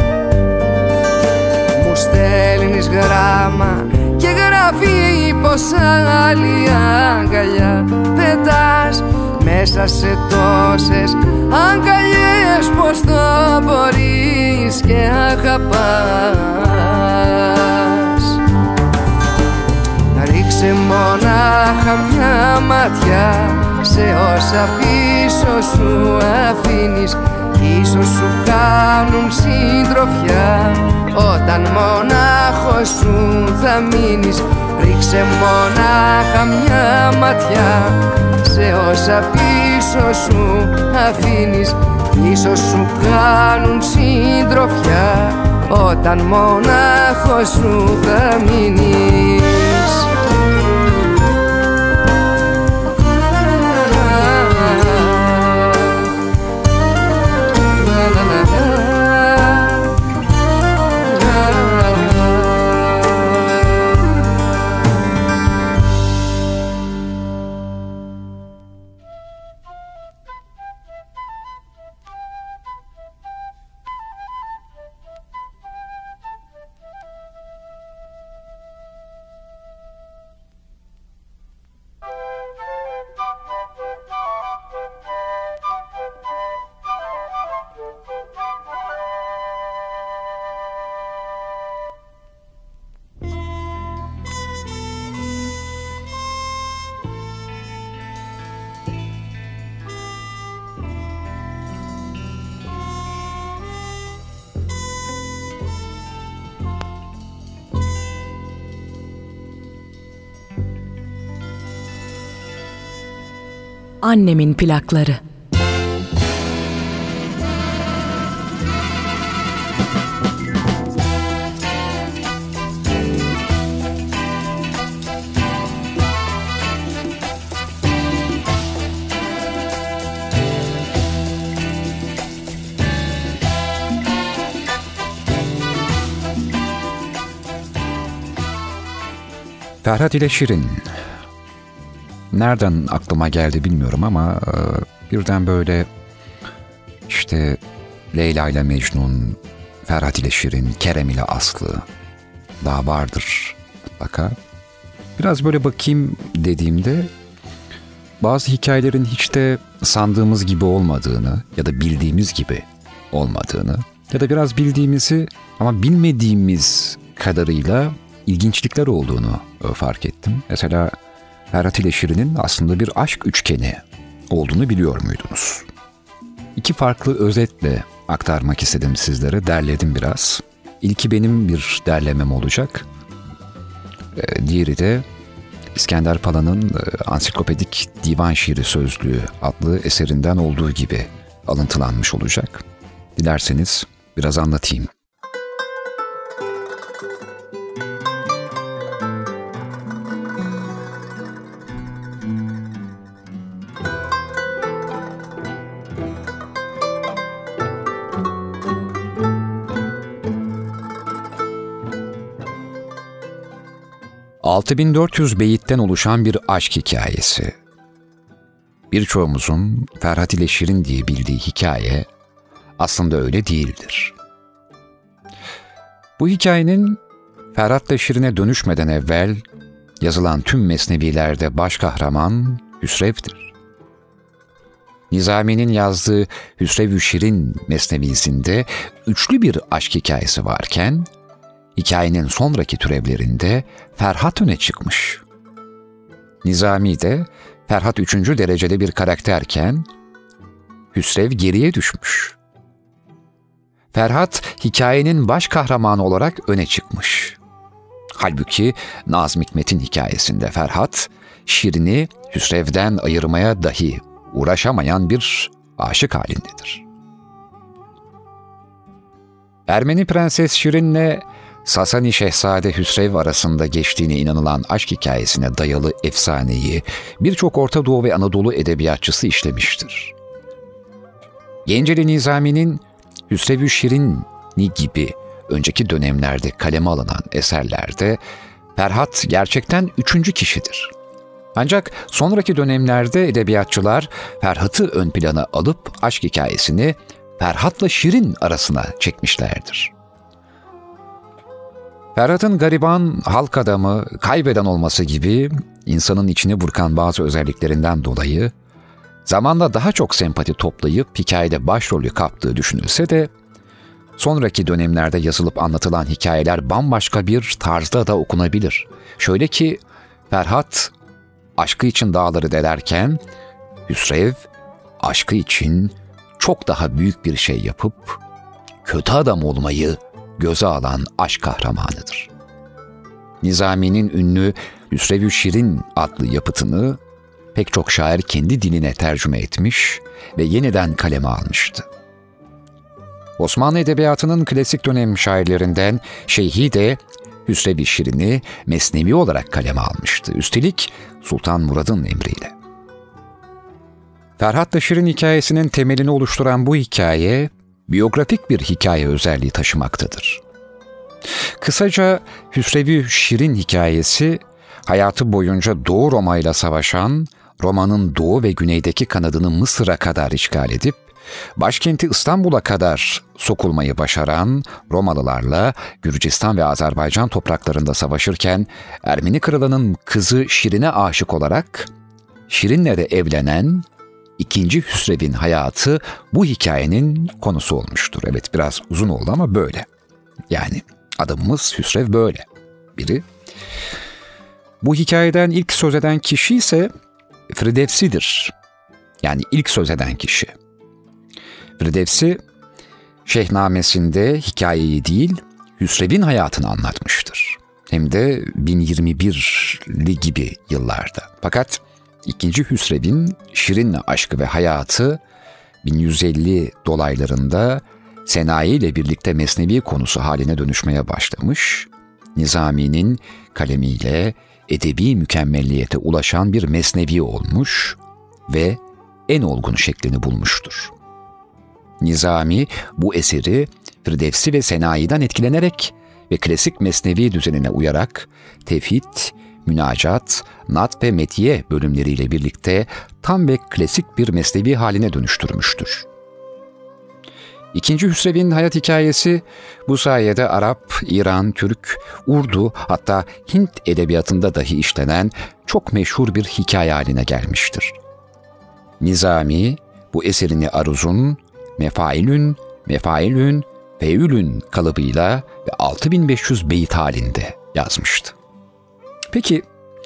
Speaker 6: Μου στέλνεις γράμμα και γραφή πως άλλη αγκαλιά πετάς, μέσα σε τόσες αγκαλιές πως το μπορείς και αγαπάς. Ρίξε μονάχα μια ματιά σε όσα πίσω σου αφήνεις, ίσως σου κάνουν συντροφιά όταν μονάχος σου θα μείνεις. Ρίξε μονάχα μια ματιά σε όσα πίσω σου αφήνεις, ίσως σου κάνουν συντροφιά όταν μονάχος σου θα μείνεις.
Speaker 3: Annemin plakları.
Speaker 1: Ferhat ile Şirin. Nereden aklıma geldi bilmiyorum ama birden böyle işte Leyla ile Mecnun, Ferhat ile Şirin, Kerem ile Aslı daha vardır mutlaka. Biraz böyle bakayım dediğimde bazı hikayelerin hiç de sandığımız gibi olmadığını ya da bildiğimiz gibi olmadığını ya da biraz bildiğimizi ama bilmediğimiz kadarıyla ilginçlikler olduğunu fark ettim. Mesela Ferhat ile Şirin'in aslında bir aşk üçgeni olduğunu biliyor muydunuz? İki farklı özetle aktarmak istedim sizlere, derledim biraz. İlki benim bir derlemem olacak. Diğeri de İskender Pala'nın Ansiklopedik Divan Şiiri Sözlüğü adlı eserinden olduğu gibi alıntılanmış olacak. Dilerseniz biraz anlatayım. 6400 beyitten oluşan bir aşk hikayesi. Birçoğumuzun Ferhat ile Şirin diye bildiği hikaye aslında öyle değildir. Bu hikayenin Ferhat'la Şirin'e dönüşmeden evvel yazılan tüm mesnevilerde baş kahraman Hüsrev'dir. Nizami'nin yazdığı Hüsrev-ü Şirin mesnevisinde üçlü bir aşk hikayesi varken, hikayenin sonraki türevlerinde Ferhat öne çıkmış. Nizami de Ferhat 3. derecede bir karakterken, Hüsrev geriye düşmüş. Ferhat hikayenin baş kahramanı olarak öne çıkmış. Halbuki Nazım Hikmet'in hikayesinde Ferhat, Şirin'i Hüsrev'den ayırmaya dahi uğraşamayan bir aşık halindedir. Ermeni Prenses Şirin'le Sasani Şehzade Hüsrev arasında geçtiğine inanılan aşk hikayesine dayalı efsaneyi birçok Orta Doğu ve Anadolu edebiyatçısı işlemiştir. Genceli Nizami'nin Hüsrev-ü Şirin'i gibi önceki dönemlerde kaleme alınan eserlerde Ferhat gerçekten üçüncü kişidir. Ancak sonraki dönemlerde edebiyatçılar Ferhat'ı ön plana alıp aşk hikayesini Ferhat'la Şirin arasına çekmişlerdir. Ferhat'ın gariban, halk adamı, kaybeden olması gibi insanın içine burkan bazı özelliklerinden dolayı zamanla daha çok sempati toplayıp hikayede başrolü kaptığı düşünülse de sonraki dönemlerde yazılıp anlatılan hikayeler bambaşka bir tarzda da okunabilir. Şöyle ki Ferhat aşkı için dağları delerken Hüsrev aşkı için çok daha büyük bir şey yapıp kötü adam olmayı göze alan aşk kahramanıdır. Nizami'nin ünlü Hüsrev-ü Şirin adlı yapıtını pek çok şair kendi diline tercüme etmiş ve yeniden kaleme almıştı. Osmanlı Edebiyatı'nın klasik dönem şairlerinden Şeyhi de Hüsrev-i Şirin'i mesnevi olarak kaleme almıştı. Üstelik Sultan Murad'ın emriyle. Ferhat'la Şirin hikayesinin temelini oluşturan bu hikaye, biyografik bir hikaye özelliği taşımaktadır. Kısaca Hüsrev-i Şirin hikayesi, hayatı boyunca Doğu Roma ile savaşan, Roma'nın doğu ve güneydeki kanadını Mısır'a kadar işgal edip, başkenti İstanbul'a kadar sokulmayı başaran Romalılarla Gürcistan ve Azerbaycan topraklarında savaşırken Ermeni kralının kızı Şirin'e aşık olarak Şirin'le de evlenen 2. Hüsrev'in hayatı bu hikayenin konusu olmuştur. Evet, biraz uzun oldu ama böyle. Yani adamımız Hüsrev böyle biri. Bu hikayeden ilk söz eden kişi ise Firdevsi'dir. Yani ilk söz eden kişi. Firdevsi, Şehnamesinde hikayeyi değil, Hüsrev'in hayatını anlatmıştır. Hem de 1021'li gibi yıllarda. Fakat 2. Hüsrev'in Şirin'le aşkı ve hayatı 1150 dolaylarında Senayi ile birlikte mesnevi konusu haline dönüşmeye başlamış, Nizami'nin kalemiyle edebi mükemmelliyete ulaşan bir mesnevi olmuş ve en olgun şeklini bulmuştur. Nizami bu eseri Firdevsi ve Senayi'den etkilenerek ve klasik mesnevi düzenine uyarak tevhid, münacat, nat ve metiye bölümleriyle birlikte tam ve klasik bir mesnevi haline dönüştürmüştür. 2. Hüsrev'in hayat hikayesi bu sayede Arap, İran, Türk, Urdu hatta Hint edebiyatında dahi işlenen çok meşhur bir hikaye haline gelmiştir. Nizami bu eserini aruzun, mefailün, feülün kalıbıyla ve 6500 beyit halinde yazmıştı. Peki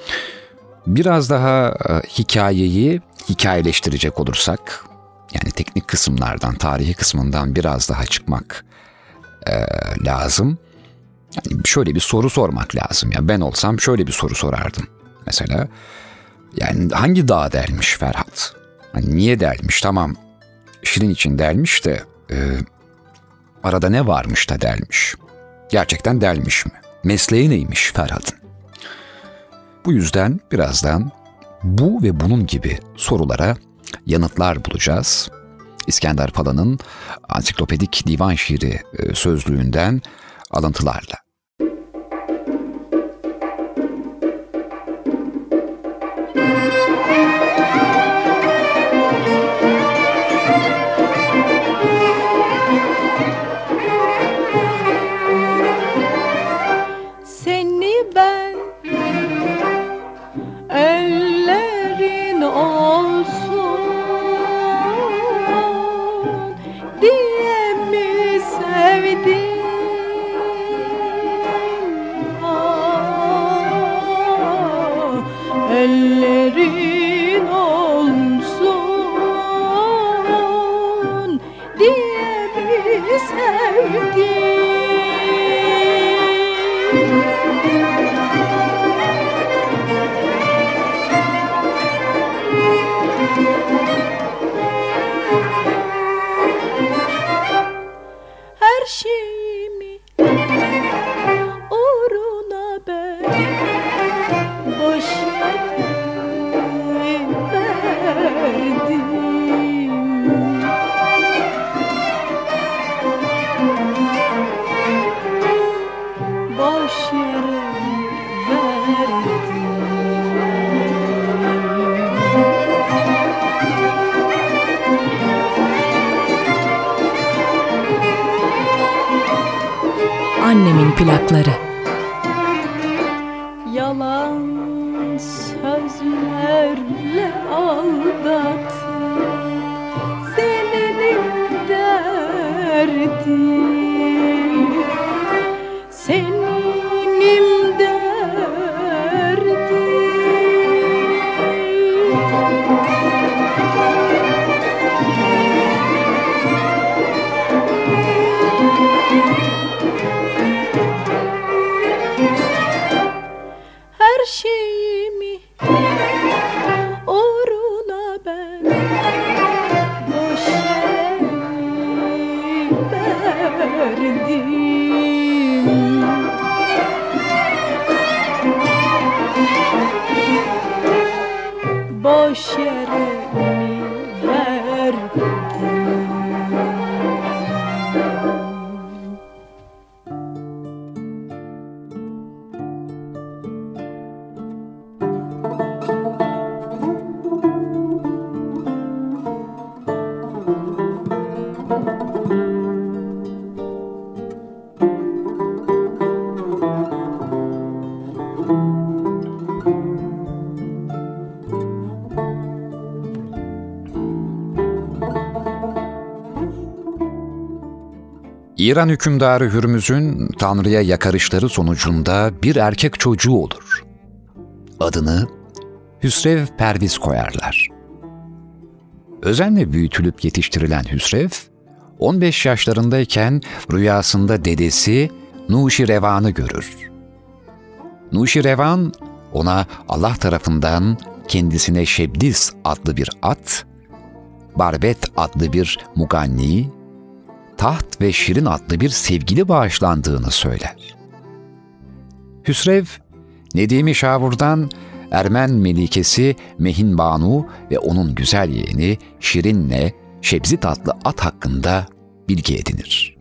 Speaker 1: biraz daha hikayeyi hikayeleştirecek olursak, yani teknik kısımlardan, tarihi kısmından biraz daha çıkmak lazım. Yani şöyle bir soru sormak lazım. Ya ben olsam şöyle bir soru sorardım. Mesela yani hangi dağa delmiş Ferhat? Hani niye delmiş? Tamam, Şirin için delmiş de arada ne varmış da delmiş? Gerçekten delmiş mi? Mesleği neymiş Ferhat'ın? Bu yüzden birazdan bu ve bunun gibi sorulara yanıtlar bulacağız. İskender Pala'nın Ansiklopedik Divan Şiiri sözlüğünden alıntılarla.
Speaker 2: ellerin olsun diye mi sevdim? Ellerin olsun diye mi sevdim? Her şeyimi uğruna ben boş verdim. Boş yere verdim.
Speaker 3: Annemin plakları.
Speaker 2: Yalan sözlerle aldatıp senin derdim, senin derdim. Her şeyimi uğruna ben boş yere verdim. Boş yere mi verdim?
Speaker 1: İran hükümdarı Hürmüz'ün Tanrı'ya yakarışları sonucunda bir erkek çocuğu olur. Adını Hüsrev Perviz koyarlar. Özenle büyütülüp yetiştirilen Hüsrev, 15 yaşlarındayken rüyasında dedesi Nuşirevan'ı görür. Nuşirevan ona Allah tarafından kendisine Şebdis adlı bir at, Barbet adlı bir muganni, Taht ve Şirin adlı bir sevgili bağışlandığını söyler. Hüsrev, Nedimi Şavur'dan Ermen melikesi Mehin Banu ve onun güzel yeğeni Şirin'le Şebzit adlı at hakkında bilgi edinir.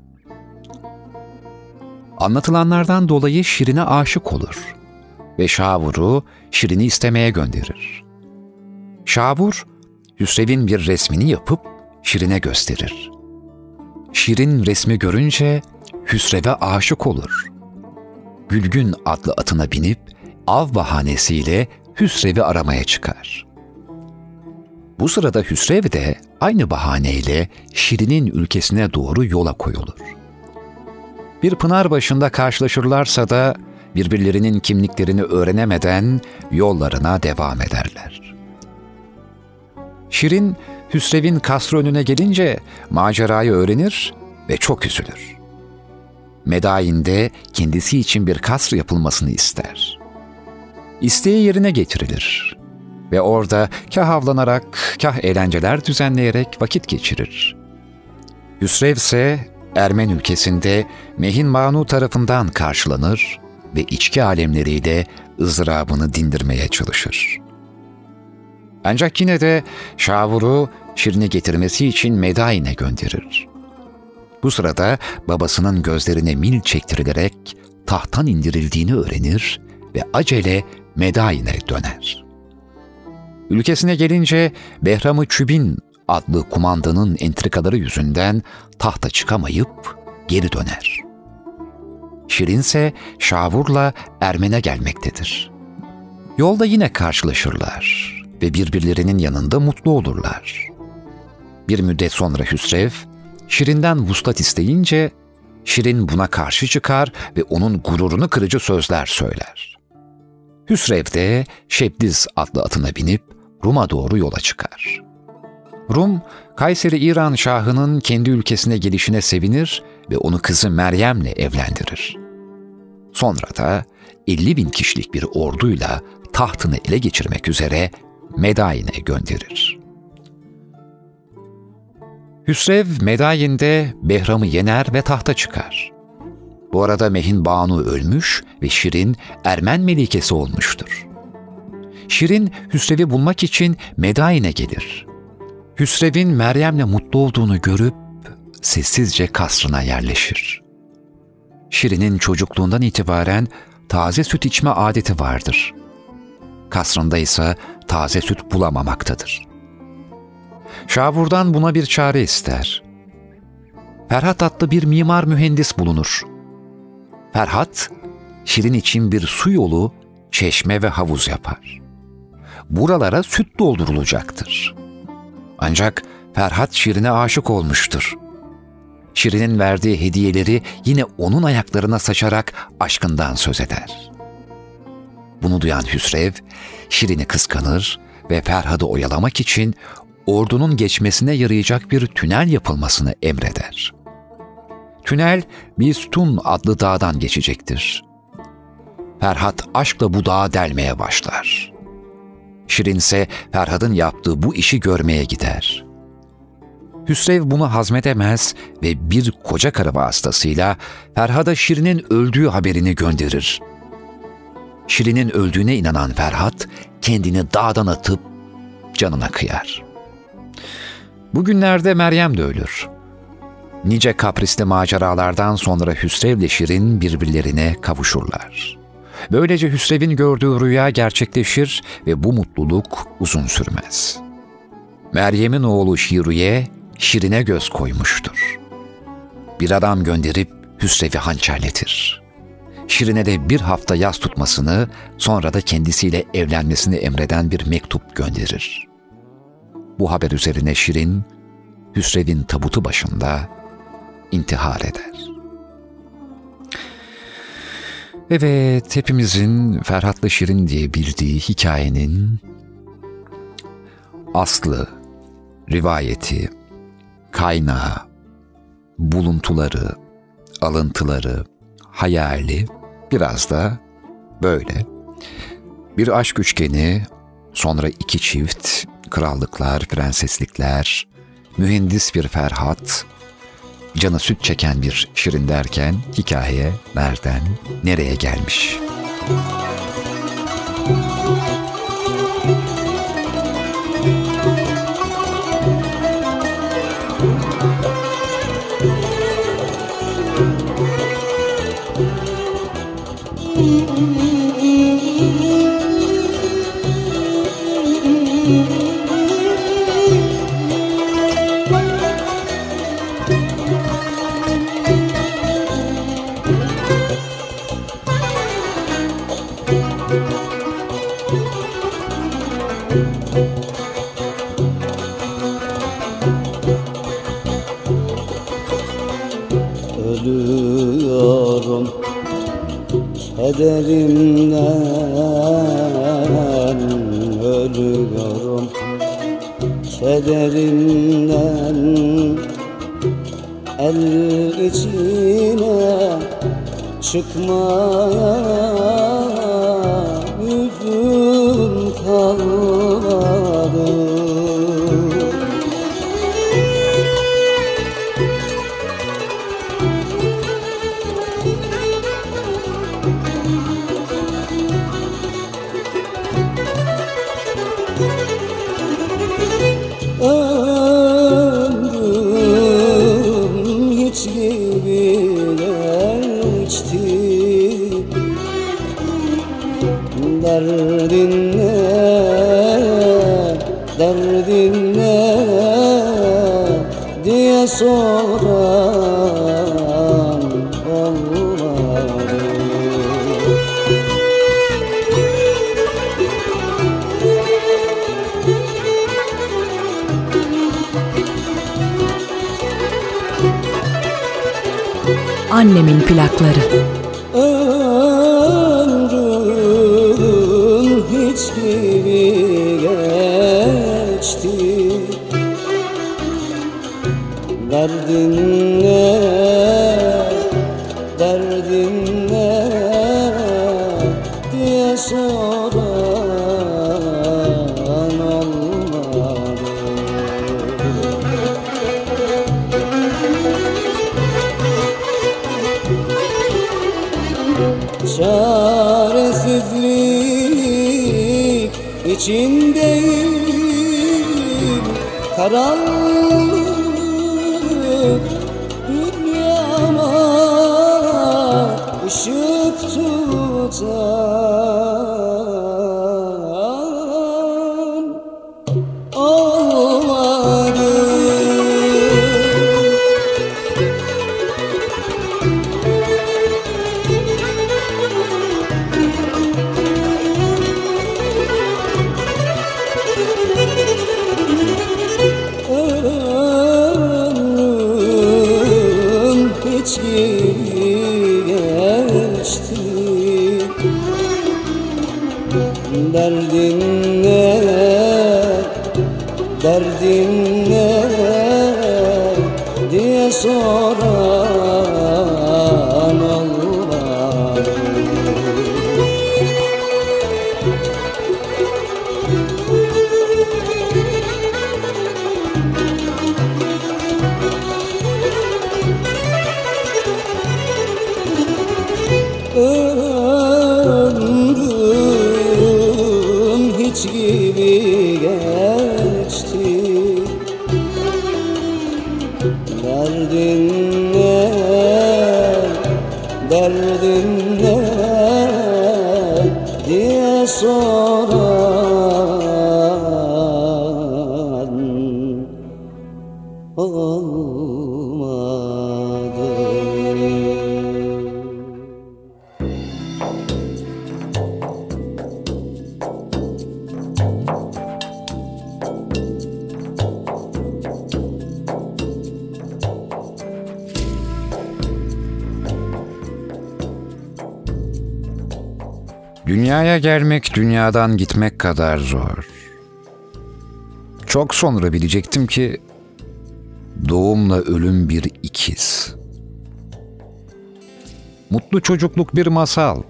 Speaker 1: Anlatılanlardan dolayı Şirin'e aşık olur ve Şavur'u Şirin'i istemeye gönderir. Şavur, Hüsrev'in bir resmini yapıp Şirin'e gösterir. Şirin resmi görünce Hüsrev'e aşık olur. Gülgün adlı atına binip av bahanesiyle Hüsrev'i aramaya çıkar. Bu sırada Hüsrev de aynı bahaneyle Şirin'in ülkesine doğru yola koyulur. Bir pınar başında karşılaşırlarsa da birbirlerinin kimliklerini öğrenemeden yollarına devam ederler. Şirin, Hüsrev'in kasrı önüne gelince macerayı öğrenir ve çok üzülür. Medain'de kendisi için bir kasr yapılmasını ister. İsteği yerine getirilir ve orada kah avlanarak, kah eğlenceler düzenleyerek vakit geçirir. Hüsrev ise Ermen ülkesinde Mehin Banu tarafından karşılanır ve içki alemleriyle ızdırabını dindirmeye çalışır. Ancak yine de Şavur'u Şirin'e getirmesi için Medain'e gönderir. Bu sırada babasının gözlerine mil çektirilerek tahttan indirildiğini öğrenir ve acele Medain'e döner. Ülkesine gelince Behram-ı Çübin adlı kumandanın entrikaları yüzünden tahta çıkamayıp geri döner. Şirin ise Şavur'la Ermen'e gelmektedir. Yolda yine karşılaşırlar ve birbirlerinin yanında mutlu olurlar. Bir müddet sonra Hüsrev, Şirin'den vuslat isteyince Şirin buna karşı çıkar ve onun gururunu kırıcı sözler söyler. Hüsrev de Şebdiz adlı atına binip Rum'a doğru yola çıkar. Rum, Kayseri İran Şahı'nın kendi ülkesine gelişine sevinir ve onu kızı Meryem'le evlendirir. Sonra da 50.000 kişilik bir orduyla tahtını ele geçirmek üzere Medayin'e gönderir. Hüsrev Medayin'de Behram'ı yener ve tahta çıkar. Bu arada Mehin Banu ölmüş ve Şirin Ermen melikesi olmuştur. Şirin Hüsrev'i bulmak için Medayin'e gelir. Hüsrev'in Meryem'le mutlu olduğunu görüp sessizce kasrına yerleşir. Şirin'in çocukluğundan itibaren taze süt içme adeti vardır. Kasrında ise taze süt bulamamaktadır. Şavur'dan buna bir çare ister. Ferhat adlı bir mimar mühendis bulunur. Ferhat, Şirin için bir su yolu, çeşme ve havuz yapar. Buralara süt doldurulacaktır. Ancak Ferhat Şirin'e aşık olmuştur. Şirin'in verdiği hediyeleri yine onun ayaklarına saçarak aşkından söz eder. Bunu duyan Hüsrev, Şirin'i kıskanır ve Ferhat'ı oyalamak için ordunun geçmesine yarayacak bir tünel yapılmasını emreder. Tünel, Bistun adlı dağdan geçecektir. Ferhat aşkla bu dağı delmeye başlar. Şirin ise Ferhat'ın yaptığı bu işi görmeye gider. Hüsrev bunu hazmedemez ve bir koca karı vasıtasıyla Ferhat'a Şirin'in öldüğü haberini gönderir. Şirin'in öldüğüne inanan Ferhat kendini dağdan atıp canına kıyar. Bugünlerde Meryem de ölür. Nice kaprisli maceralardan sonra Hüsrev'le Şirin birbirlerine kavuşurlar. Böylece Hüsrev'in gördüğü rüya gerçekleşir ve bu mutluluk uzun sürmez. Meryem'in oğlu Şiruye, Şirin'e göz koymuştur. Bir adam gönderip Hüsrev'i hançerletir. Şirin'e de bir hafta yas tutmasını, sonra da kendisiyle evlenmesini emreden bir mektup gönderir. Bu haber üzerine Şirin, Hüsrev'in tabutu başında intihar eder. Evet, hepimizin Ferhat'la Şirin diye bildiği hikayenin aslı, rivayeti, kaynağı, buluntuları, alıntıları, hayali biraz da böyle. Bir aşk üçgeni, sonra iki çift, krallıklar, prenseslikler, mühendis bir Ferhat, canı süt çeken bir Şirin derken hikaye nereden nereye gelmiş?
Speaker 7: Ölüyorum kederimden, ölüyorum kederimden. El içine çıkmaya yüzüm kalmadı. Ömrüm hiç gibi geçti. Derdin ne, derdin ne diye soran olmadı.
Speaker 3: Annemin plakları.
Speaker 7: Ömrüm hiç gibi geçti. Derdin ne, derdin ne diye soran olmadı. Çaresizlik içindeyim, karanlık dünyama ışık tutan olmadı. Ömrüm hiç gibi geçti. Derdin ne, derdin ne diye soran olmadı. Ömrüm hiç gibi geçti. Derdin ne, derdin ne diye soran olmadı.
Speaker 1: Dünyaya gelmek dünyadan gitmek kadar zor. Çok sonra bilecektim ki doğumla ölüm bir ikiz. Mutlu çocukluk bir masal.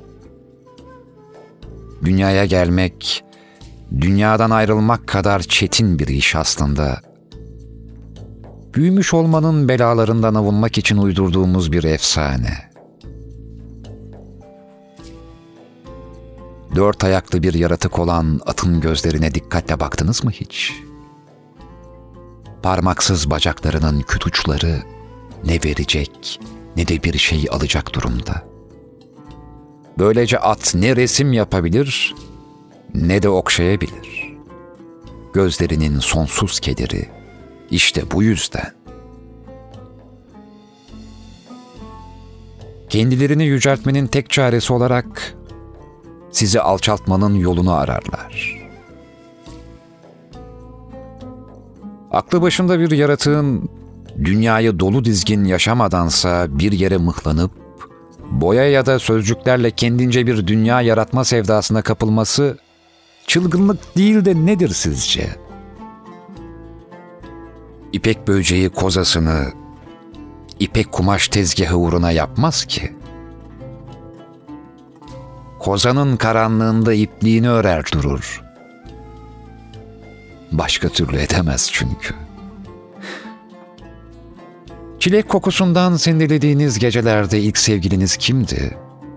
Speaker 1: Dünyaya gelmek, dünyadan ayrılmak kadar çetin bir iş aslında. Büyümüş olmanın belalarından avunmak için uydurduğumuz bir efsane. 4 ayaklı bir yaratık olan atın gözlerine dikkatle baktınız mı hiç? Parmaksız bacaklarının küt uçları ne verecek ne de bir şey alacak durumda. Böylece at ne resim yapabilir ne de okşayabilir. Gözlerinin sonsuz kederi işte bu yüzden. Kendilerini yüceltmenin tek çaresi olarak sizi alçaltmanın yolunu ararlar. Aklı başında bir yaratığın dünyayı dolu dizgin yaşamadansa bir yere mıhlanıp boya ya da sözcüklerle kendince bir dünya yaratma sevdasına kapılması çılgınlık değil de nedir sizce? İpek böceği kozasını ipek kumaş tezgahı uğruna yapmaz ki. Kozanın karanlığında ipliğini örer durur. Başka türlü edemez çünkü. Çilek kokusundan sendelediğiniz gecelerde ilk sevgiliniz kimdi?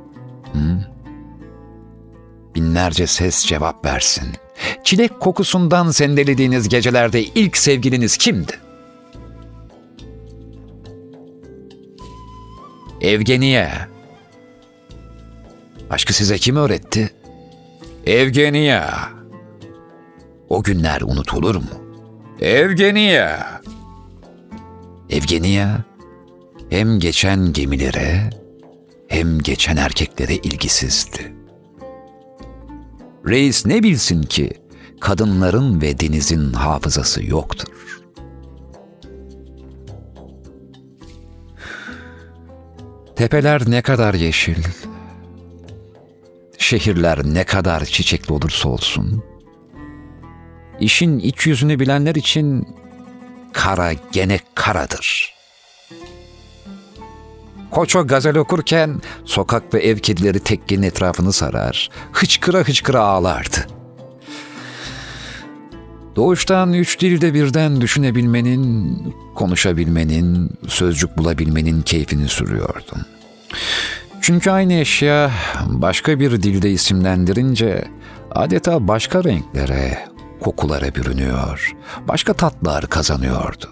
Speaker 1: Binlerce ses cevap versin. Çilek kokusundan sendelediğiniz gecelerde ilk sevgiliniz kimdi? Evgeniya. Aşkı size kim öğretti? Evgeniya. O günler unutulur mu? Evgeniya. Evgeniya hem geçen gemilere hem geçen erkeklere ilgisizdi. Reis ne bilsin ki kadınların ve denizin hafızası yoktur. Tepeler ne kadar yeşil, şehirler ne kadar çiçekli olursa olsun, işin iç yüzünü bilenler için kara gene karadır. Koço gazel okurken sokak ve ev kedileri tekkenin etrafını sarar, hıçkıra hıçkıra ağlardı. Doğuştan 3 dilde birden düşünebilmenin, konuşabilmenin, sözcük bulabilmenin keyfini sürüyordum. Çünkü aynı eşya başka bir dilde isimlendirince adeta başka renklere, kokulara bürünüyor, başka tatlar kazanıyordu.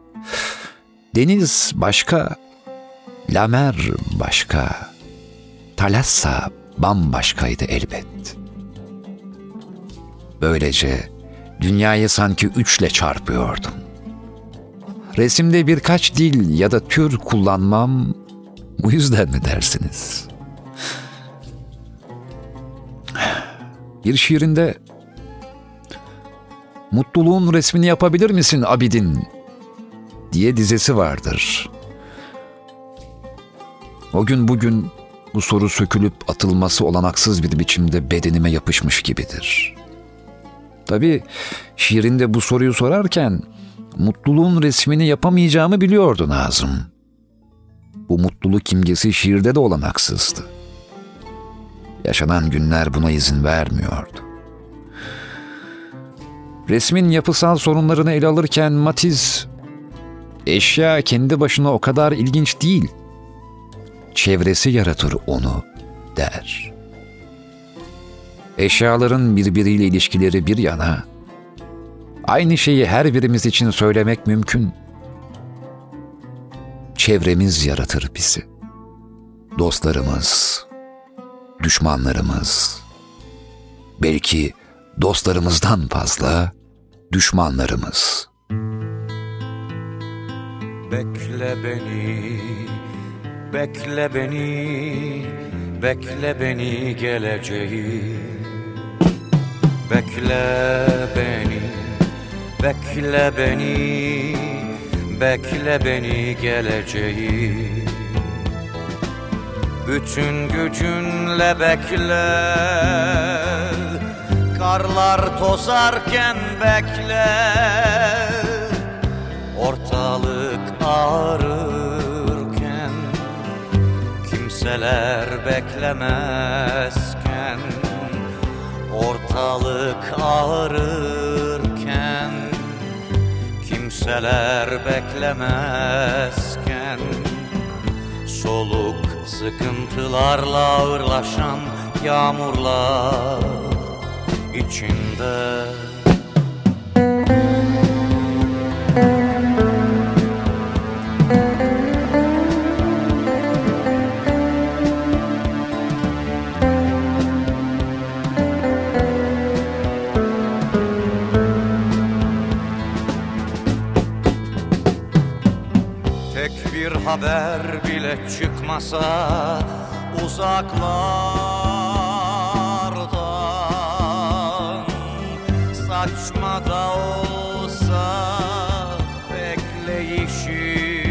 Speaker 1: Deniz başka, Lamer başka, Thalassa bambaşkaydı elbet. Böylece dünyayı sanki 3'le çarpıyordum. Resimde birkaç dil ya da tür kullanmam bu yüzden mi dersiniz? Bir şiirinde "Mutluluğun resmini yapabilir misin Abidin?" diye dizesi vardır. O gün bugün bu soru sökülüp atılması olanaksız bir biçimde bedenime yapışmış gibidir. Tabii şiirinde bu soruyu sorarken mutluluğun resmini yapamayacağımı biliyordu Nazım. Bu mutluluk imgesi şiirde de olanaksızdı. Yaşanan günler buna izin vermiyordu. Resmin yapısal sorunlarını ele alırken Matiz, eşya kendi başına o kadar ilginç değil, çevresi yaratır onu der. Eşyaların birbiriyle ilişkileri bir yana, aynı şeyi her birimiz için söylemek mümkün. Çevremiz yaratır bizi. Dostlarımız, düşmanlarımız, belki dostlarımızdan fazla düşmanlarımız.
Speaker 5: Bekle beni, bekle beni, bekle beni geleceğim. Bekle beni, bekle beni, bekle beni geleceğim. Bütün gücünle bekle, karlar tozarken bekle, ortalık ağrırken, kimseler beklemezken, ortalık ağrırken, kimseler beklemezken, soluk sıkıntılarla ağırlaşan yağmurlar içinde. Tek bir haber bile çıkmasa uzaklardan, saçma da olsa bekleyişi,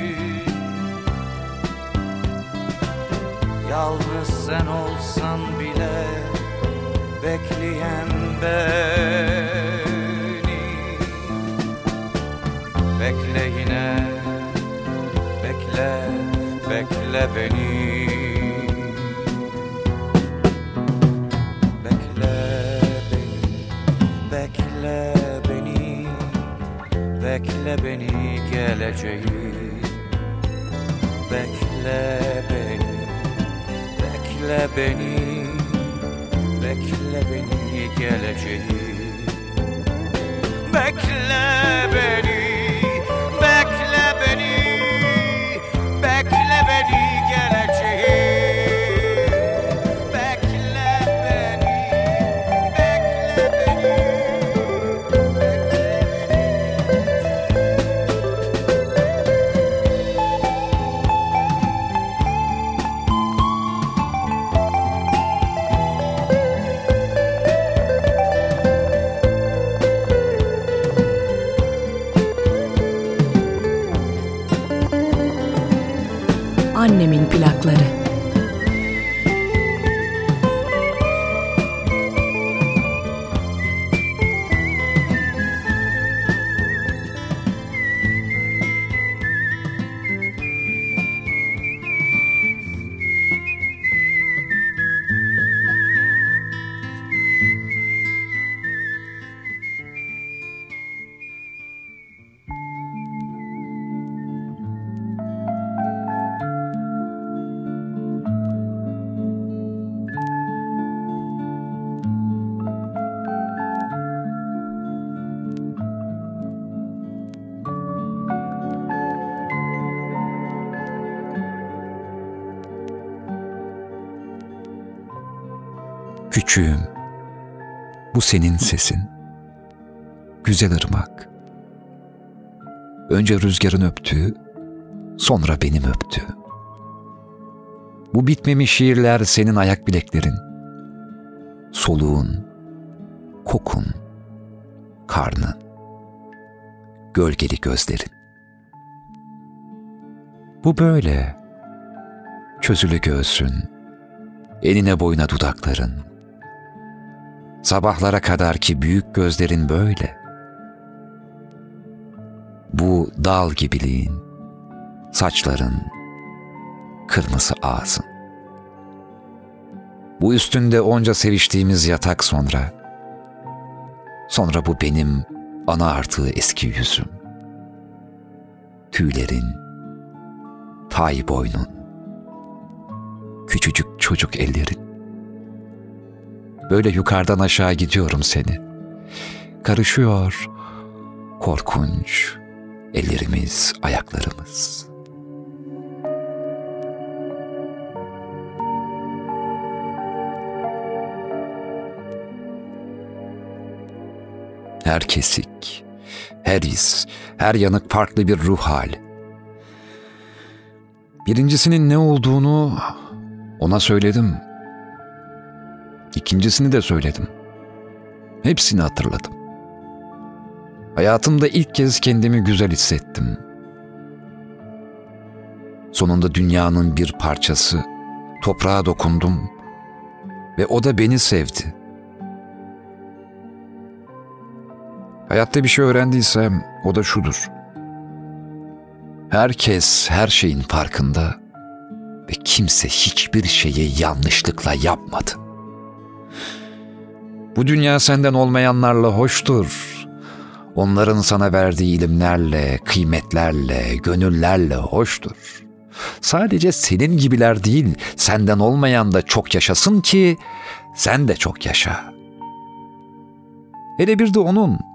Speaker 5: yalnız sen olsan bile bekleyen beni, bekle yine, bekle, bekle beni. Bekle beni, bekle beni, bekle beni geleceğim. Bekle beni, bekle beni, bekle beni geleceğim. Bekle beni, bekle beni, bekle beni geleceğim. Bekle beni, bekle beni, bekle beni.
Speaker 3: Annemin plakları.
Speaker 1: Küçüğüm, bu senin sesin. Güzel ırmak. Önce rüzgarın öptüğü, sonra benim öptüğü. Bu bitmemiş şiirler senin ayak bileklerin. Soluğun, kokun, karnın, gölgeli gözlerin. Bu böyle, çözülü göğsün, enine boyuna dudakların. Sabahlara kadar ki büyük gözlerin böyle. Bu dal gibiliğin, saçların, kırmızı ağzın. Bu üstünde onca seviştiğimiz yatak sonra. Sonra bu benim ana artığı eski yüzüm. Tüylerin, tay boynun, küçücük çocuk ellerin. Böyle yukarıdan aşağı gidiyorum seni. Karışıyor korkunç ellerimiz, ayaklarımız. Her kesik, her his, her yanık farklı bir ruh hali. Birincisinin ne olduğunu ona söyledim. İkincisini de söyledim. Hepsini hatırladım. Hayatımda ilk kez kendimi güzel hissettim. Sonunda dünyanın bir parçası, toprağa dokundum ve o da beni sevdi. Hayatta bir şey öğrendiysem o da şudur. Herkes her şeyin farkında ve kimse hiçbir şeyi yanlışlıkla yapmadı. Bu dünya senden olmayanlarla hoştur. Onların sana verdiği ilimlerle, kıymetlerle, gönüllerle hoştur. Sadece senin gibiler değil, senden olmayan da çok yaşasın ki sen de çok yaşa. Hele bir de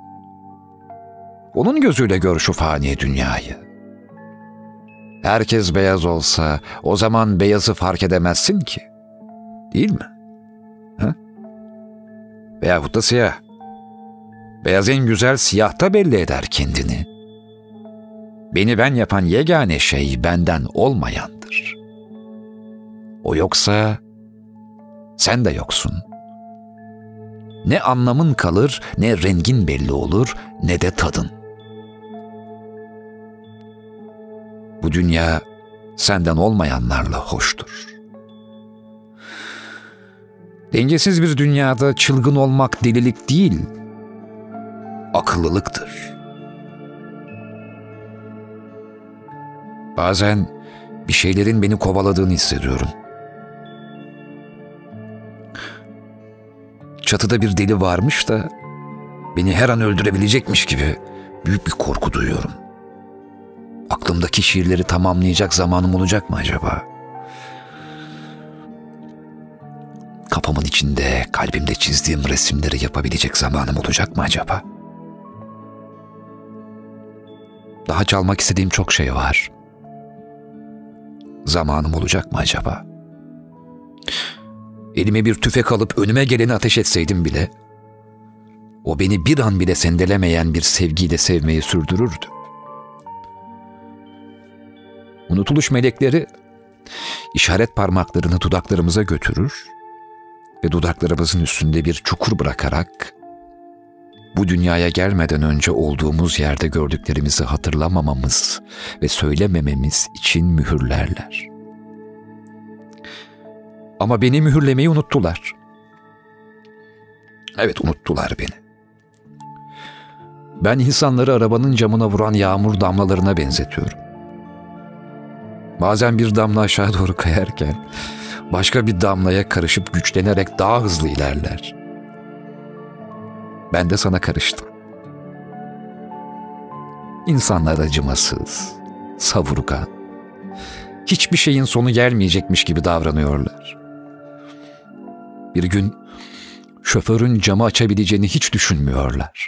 Speaker 1: onun gözüyle gör şu fani dünyayı. Herkes beyaz olsa o zaman beyazı fark edemezsin ki. Değil mi? Ha? Veyahut da siyah. Beyaz en güzel siyahta belli eder kendini. Beni ben yapan yegane şey benden olmayandır. O yoksa sen de yoksun. Ne anlamın kalır, ne rengin belli olur, ne de tadın. Bu dünya senden olmayanlarla hoştur. Dengesiz bir dünyada çılgın olmak delilik değil, akıllılıktır. Bazen bir şeylerin beni kovaladığını hissediyorum. Çatıda bir deli varmış da beni her an öldürebilecekmiş gibi büyük bir korku duyuyorum. Aklımdaki şiirleri tamamlayacak zamanım olacak mı acaba? Kafamın içinde, kalbimde çizdiğim resimleri yapabilecek zamanım olacak mı acaba? Daha çalmak istediğim çok şey var. Zamanım olacak mı acaba? Elime bir tüfek alıp önüme geleni ateş etseydim bile, o beni bir an bile sendelemeyen bir sevgiyle sevmeyi sürdürürdü. Unutuluş melekleri işaret parmaklarını dudaklarımıza götürür ve dudaklarımızın üstünde bir çukur bırakarak bu dünyaya gelmeden önce olduğumuz yerde gördüklerimizi hatırlamamamız ve söylemememiz için mühürlerler. Ama beni mühürlemeyi unuttular. Evet, unuttular beni. Ben insanları arabanın camına vuran yağmur damlalarına benzetiyorum. Bazen bir damla aşağı doğru kayarken başka bir damlaya karışıp güçlenerek daha hızlı ilerler. Ben de sana karıştım. İnsanlar acımasız, savurgan, hiçbir şeyin sonu gelmeyecekmiş gibi davranıyorlar. Bir gün şoförün camı açabileceğini hiç düşünmüyorlar.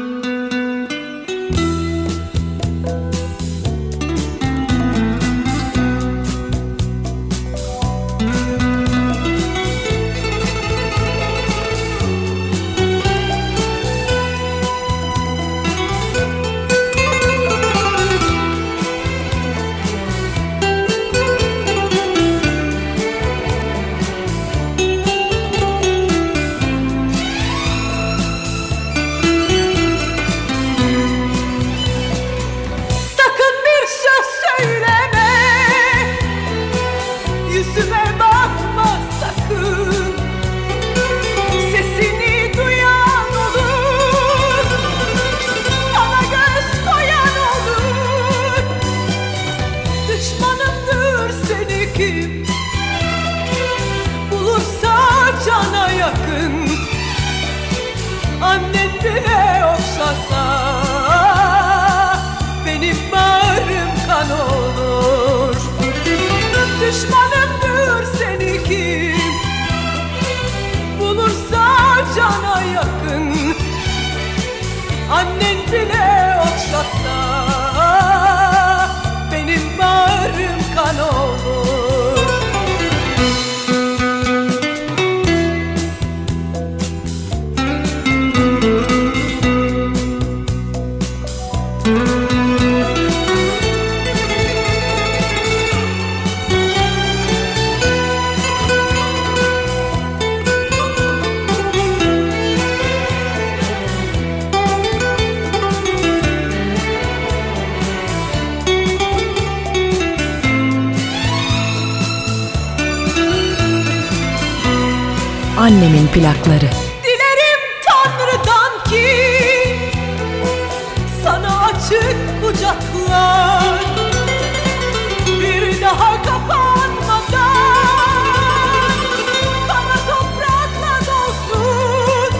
Speaker 8: Düşmanımdır seni kim bulursa cana yakın, annen bile okşasa benim bağrım kan olur.
Speaker 3: Annemin plakları.
Speaker 8: Dilerim Tanrı'dan ki sana açık kucaklar bir daha kapanmadan kara toprakla dolsun,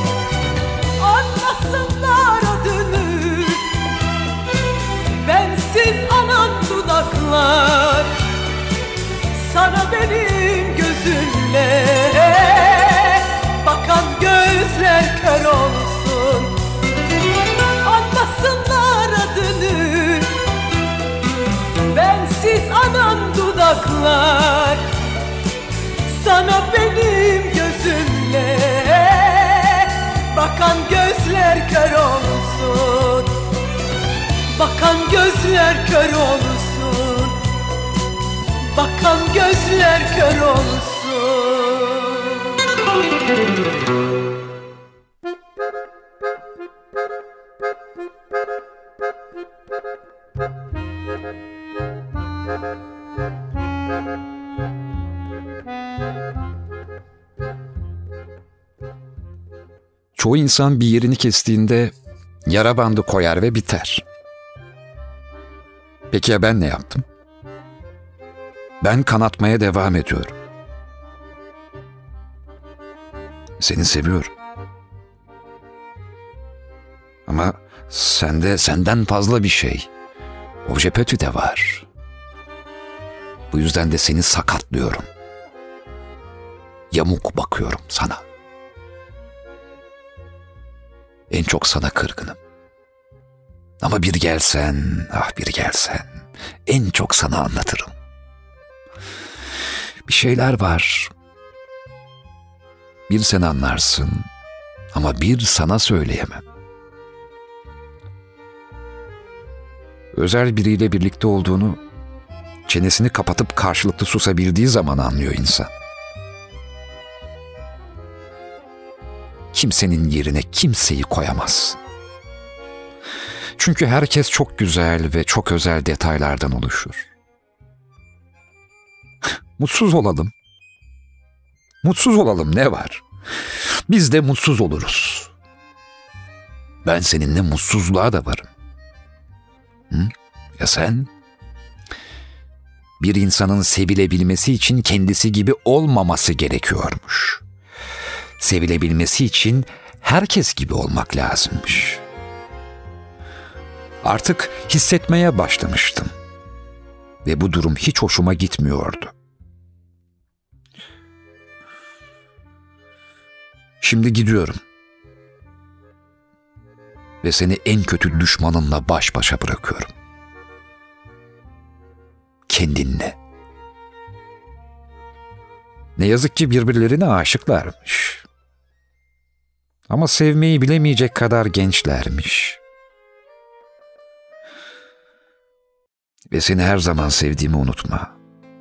Speaker 8: anlasınlar adını. Bensiz anan dudaklar sana benim gözümle bakan gözler kör olsun, anlasınlar adını. Bensiz anan dudaklar sana benim gözümle bakan gözler kör olsun, bakan gözler kör olsun, bakan gözler kör olsun.
Speaker 1: Çoğu insan bir yerini kestiğinde yara bandı koyar ve biter. Peki ya ben ne yaptım? Ben kanatmaya devam ediyorum. Seni seviyorum. Ama sende senden fazla bir şey, obje petit de var. Bu yüzden de seni sakatlıyorum. Yamuk bakıyorum sana. En çok sana kırgınım. Ama bir gelsen, ah bir gelsen, en çok sana anlatırım. Bir şeyler var. Bir sen anlarsın ama bir sana söyleyemem. Özel biriyle birlikte olduğunu çenesini kapatıp karşılıklı susabildiği zaman anlıyor insan. Kimsenin yerine kimseyi koyamazsın. Çünkü herkes çok güzel ve çok özel detaylardan oluşur. Mutsuz olalım. Mutsuz olalım, ne var? Biz de mutsuz oluruz. Ben seninle mutsuzluğa da varım. Ya sen? Bir insanın sevilebilmesi için kendisi gibi olmaması gerekiyormuş. Sevilebilmesi için herkes gibi olmak lazımmış. Artık hissetmeye başlamıştım. Ve bu durum hiç hoşuma gitmiyordu. Şimdi gidiyorum. Ve seni en kötü düşmanınla baş başa bırakıyorum. Kendinle. Ne yazık ki birbirlerine aşıklarmış. Ama sevmeyi bilemeyecek kadar gençlermiş. Ve seni her zaman sevdiğimi unutma.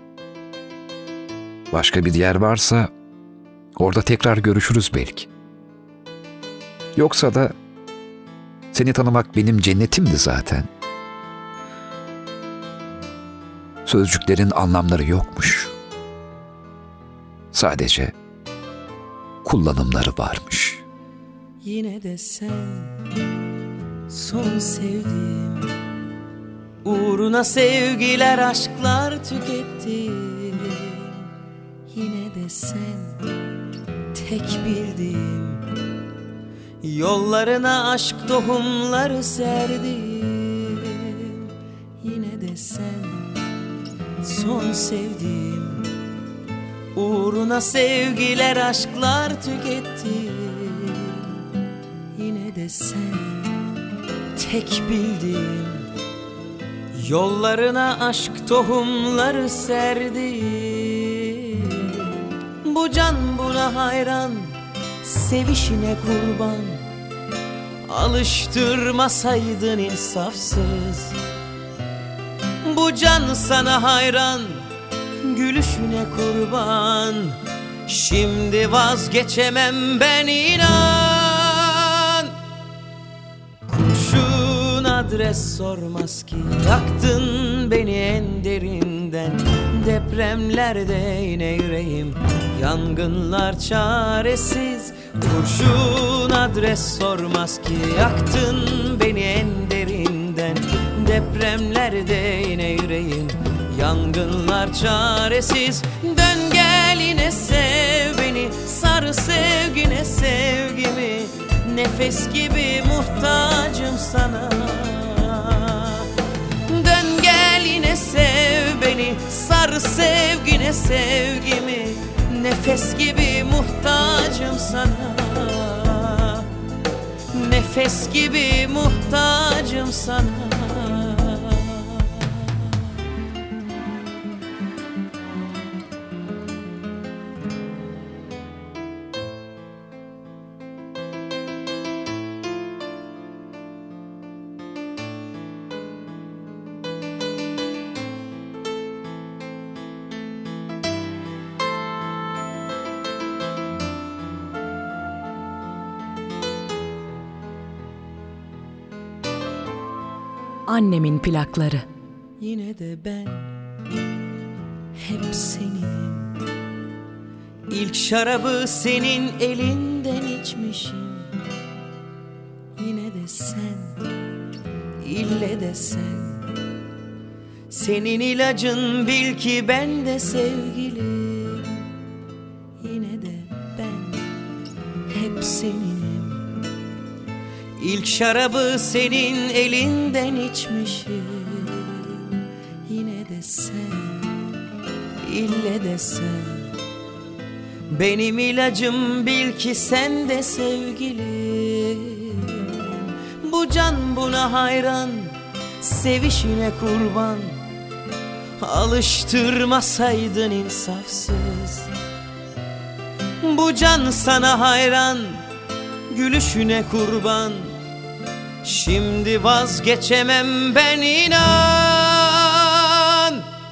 Speaker 1: Başka bir yer varsa orada tekrar görüşürüz belki. Yoksa da seni tanımak benim cennetimdi zaten. Sözcüklerin anlamları yokmuş. Sadece kullanımları varmış.
Speaker 8: Yine de sen son sevdiğim, uğruna sevgiler aşklar tükettim. Yine de sen tek bildiğim, yollarına aşk tohumları serdim. Yine de sen son sevdiğim, uğruna sevgiler aşklar tükettim. Yine de sen tek bildiğim, yollarına aşk tohumları serdim. Bu can buna hayran, sevişine kurban. Alıştırmasaydın insafsız. Bu can sana hayran, gülüşüne kurban. Şimdi vazgeçemem ben, inan. Kurşun adres sormaz ki, yaktın beni en derinden. Depremlerde yine yüreğim, yangınlar çaresiz. Kurşun adres sormaz ki, yaktın beni en derinden. Depremlerde yine yüreğim, yangınlar çaresiz. Dön gel yine sev beni, sar sevgine sevgimi. Nefes gibi muhtacım sana. Dön gel yine sev beni, sar sevgine sevgimi. Nefes gibi muhtacım sana. Nefes gibi muhtacım sana.
Speaker 3: Annemin plakları.
Speaker 8: Yine de ben hep seninim. İlk şarabı senin elinden içmişim. Yine de sen, ille de sen. Senin ilacın bil ki ben de sevgilim. Yine de ben hep seninim. İlk şarabı senin elinden içmişim. Yine de sen, ille de sen. Benim ilacım bil ki sen de sevgilim. Bu can buna hayran, sevişine kurban. Alıştırmasaydın insafsız. Bu can sana hayran, gülüşüne kurban. Şimdi vazgeçemem ben, inan.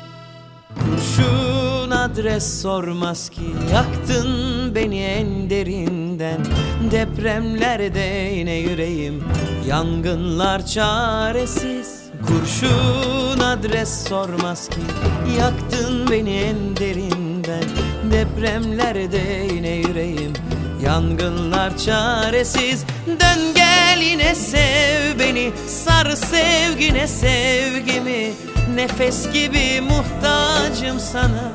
Speaker 8: Kurşun adres sormaz ki, yaktın beni en derinden. Depremlerde yine yüreğim, yangınlar çaresiz. Kurşun adres sormaz ki, yaktın beni en derinden. Depremlerde yine yüreğim, yangınlar çaresiz. Dön gel yine sev beni, sar sevgine sevgimi. Nefes gibi muhtacım sana.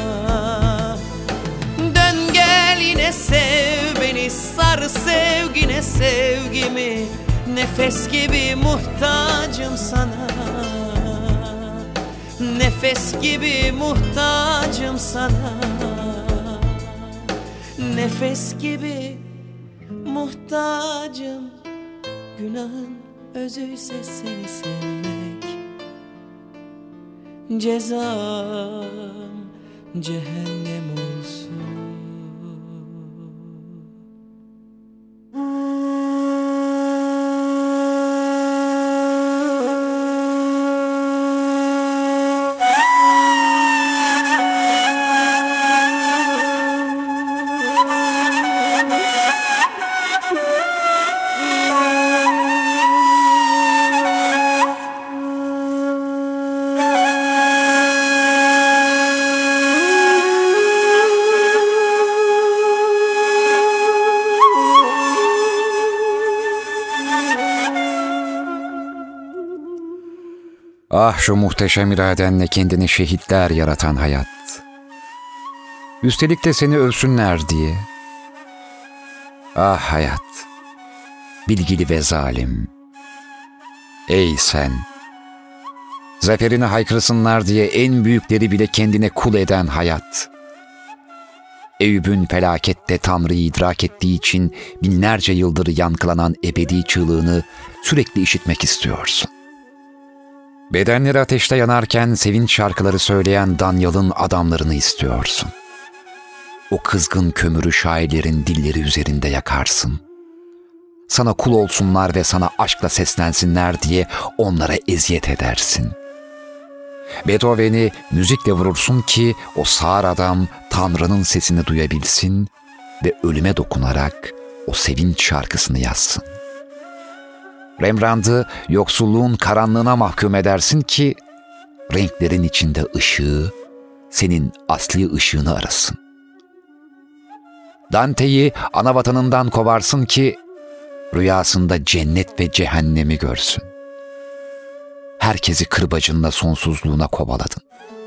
Speaker 8: Dön gel yine sev beni, sar sevgine sevgimi. Nefes gibi muhtacım sana. Nefes gibi muhtacım sana. Nefes gibi muhtacım. Günahın özüyse seni sevmek, cezam cehennem olsun.
Speaker 1: Ah şu muhteşem iradenle kendini şehitler yaratan hayat. Üstelik de seni övsünler diye. Ah hayat, bilgili ve zalim. Ey sen, zaferini haykırsınlar diye en büyükleri bile kendine kul eden hayat. Eyüp'ün felakette Tanrı'yı idrak ettiği için binlerce yıldır yankılanan ebedi çığlığını sürekli işitmek istiyorsun. Bedenleri ateşte yanarken sevinç şarkıları söyleyen Danyal'ın adamlarını istiyorsun. O kızgın kömürü şairlerin dilleri üzerinde yakarsın. Sana kul olsunlar ve sana aşkla seslensinler diye onlara eziyet edersin. Beethoven'i müzikle vurursun ki o sağır adam Tanrı'nın sesini duyabilsin ve ölüme dokunarak o sevinç şarkısını yazsın. Rembrandt'ı yoksulluğun karanlığına mahkum edersin ki renklerin içinde ışığı senin asli ışığını arasın. Dante'yi ana vatanından kovarsın ki rüyasında cennet ve cehennemi görsün. Herkesi kırbacınla sonsuzluğuna kovaladın.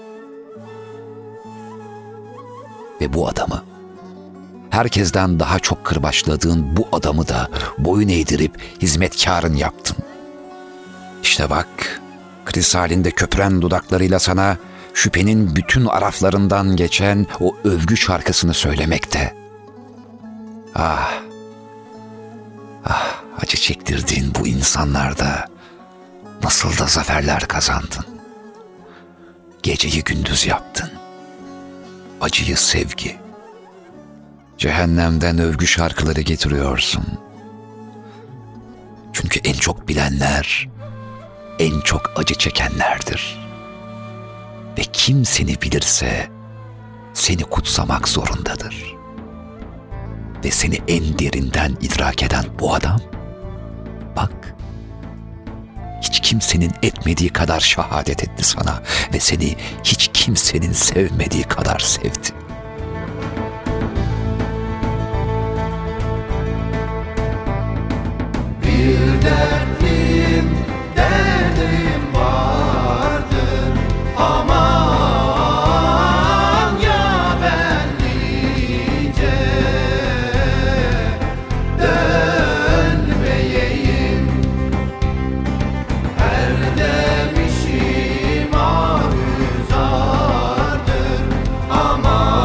Speaker 1: Ve bu adamı, herkesten daha çok kırbaçladığın bu adamı da boyun eğdirip hizmetkarın yaptın. İşte bak, kriz halinde köpüren dudaklarıyla sana şüphenin bütün araflarından geçen o övgü şarkısını söylemekte. Ah, ah, acı çektirdiğin bu insanlarda nasıl da zaferler kazandın. Geceyi gündüz yaptın. Acıyı sevgi. Cehennemden övgü şarkıları getiriyorsun. Çünkü en çok bilenler, en çok acı çekenlerdir. Ve kim seni bilirse seni kutsamak zorundadır. Ve seni en derinden idrak eden bu adam, bak, hiç kimsenin etmediği kadar şehadet etti sana ve seni hiç kimsenin sevmediği kadar sevdi.
Speaker 4: Bir derdim, derdim vardır. Aman ya benlice dönmeyeyim. Her demişim aruzardır. Aman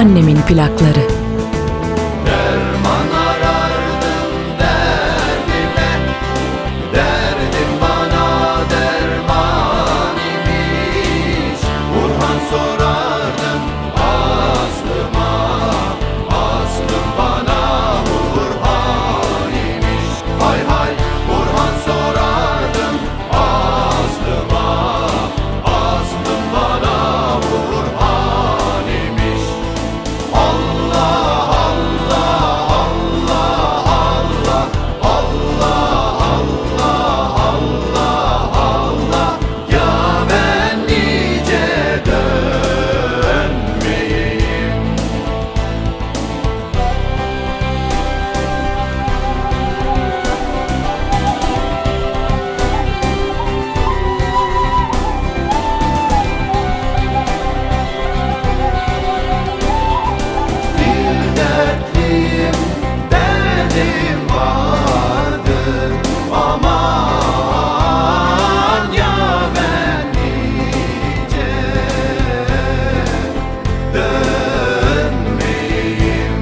Speaker 3: Annemin plakları.
Speaker 4: Derman arardım derdime, derdim bana derman imiş. Burhan sorardım aslıma, aslım bana Burhan imiş. Hay hay Burhan sorardım aslıma, aslım bana Burhan imiş. Allah Allah Allah Allah Allah Allah Allah Allah ya ben nice dönmeyeyim. Bir dertliyim, derdim vardır. Aman ya ben nice dönmeyeyim.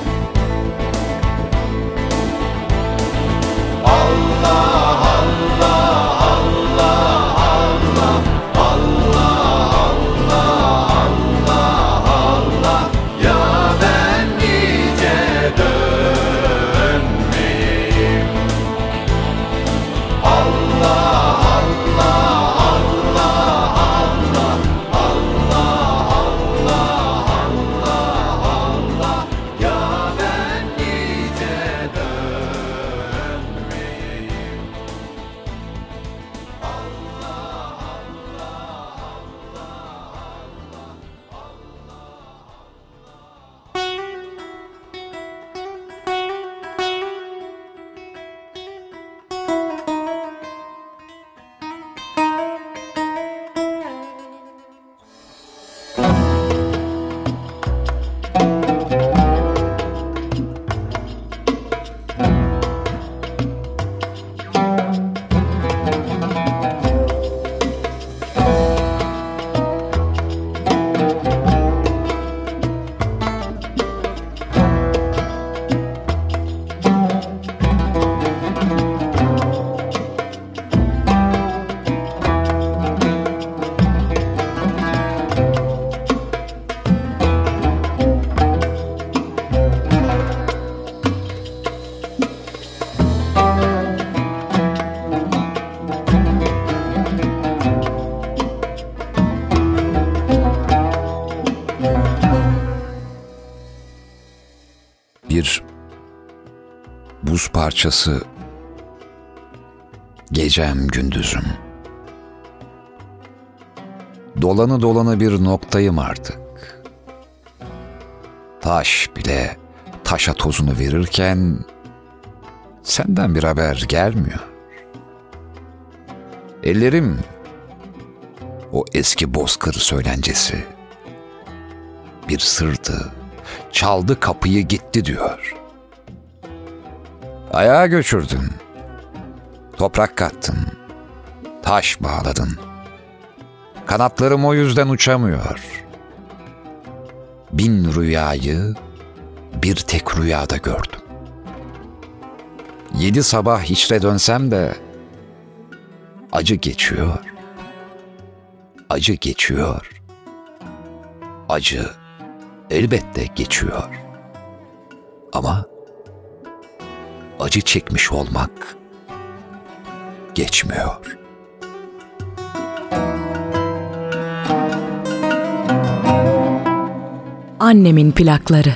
Speaker 4: Allah Allah Allah Allah Allah Allah Allah ya ben nice dönmeyeyim. Allah Allah Allah Allah Allah ya ben nice dönmeyeyim.
Speaker 1: Bir buz parçası, gecem gündüzüm. Dolanı dolanı bir noktayım artık. Taş bile taşa tozunu verirken senden bir haber gelmiyor. Ellerim o eski bozkır söylencesi. Bir sırtı çaldı kapıyı gitti diyor. Ayağa göçürdün, toprak kattın, taş bağladın. Kanatlarım o yüzden uçamıyor. Bin rüyayı bir tek rüyada gördüm. 7 sabah içre dönsem de acı geçiyor, acı geçiyor, acı elbette geçiyor. Ama acı çekmiş olmak geçmiyor.
Speaker 3: Annemin plakları.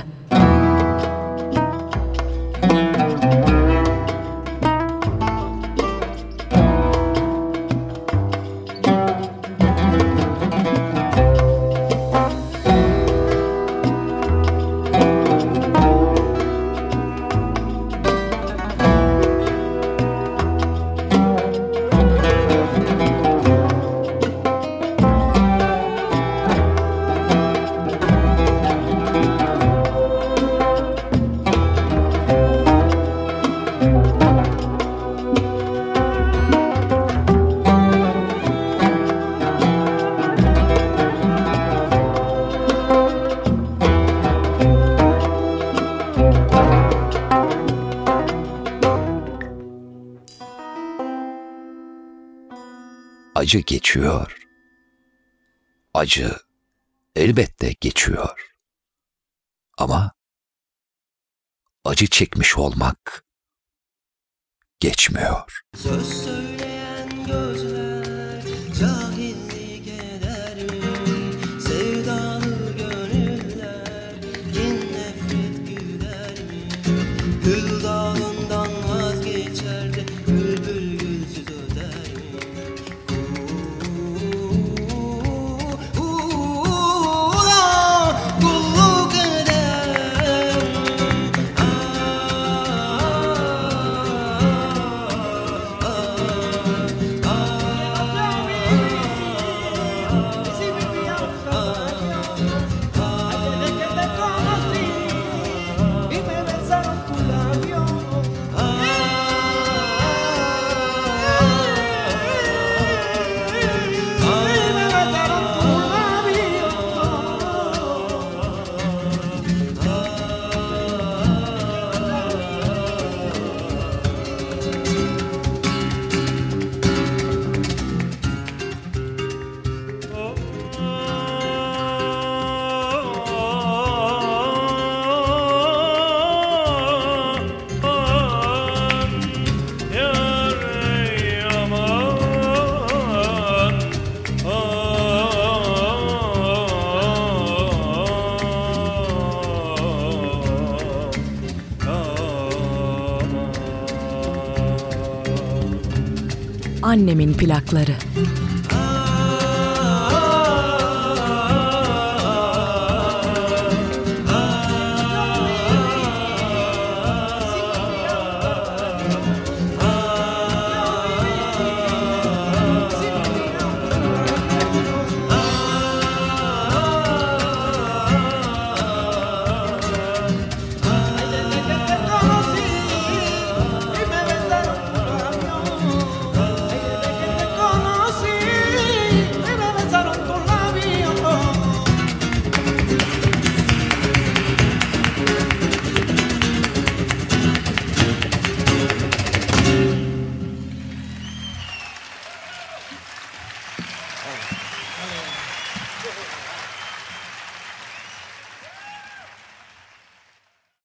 Speaker 1: acı geçiyor. Acı elbette geçiyor. Ama acı çekmiş olmak geçmiyor.
Speaker 9: Söz söyleyen gözler cahillik eder mi? Sevdalı gönüller kin nefret güder mi? Gül dalından vazgeçer de bülbül gülsüz öder mi? Kulluk eder
Speaker 3: Annemin plakları.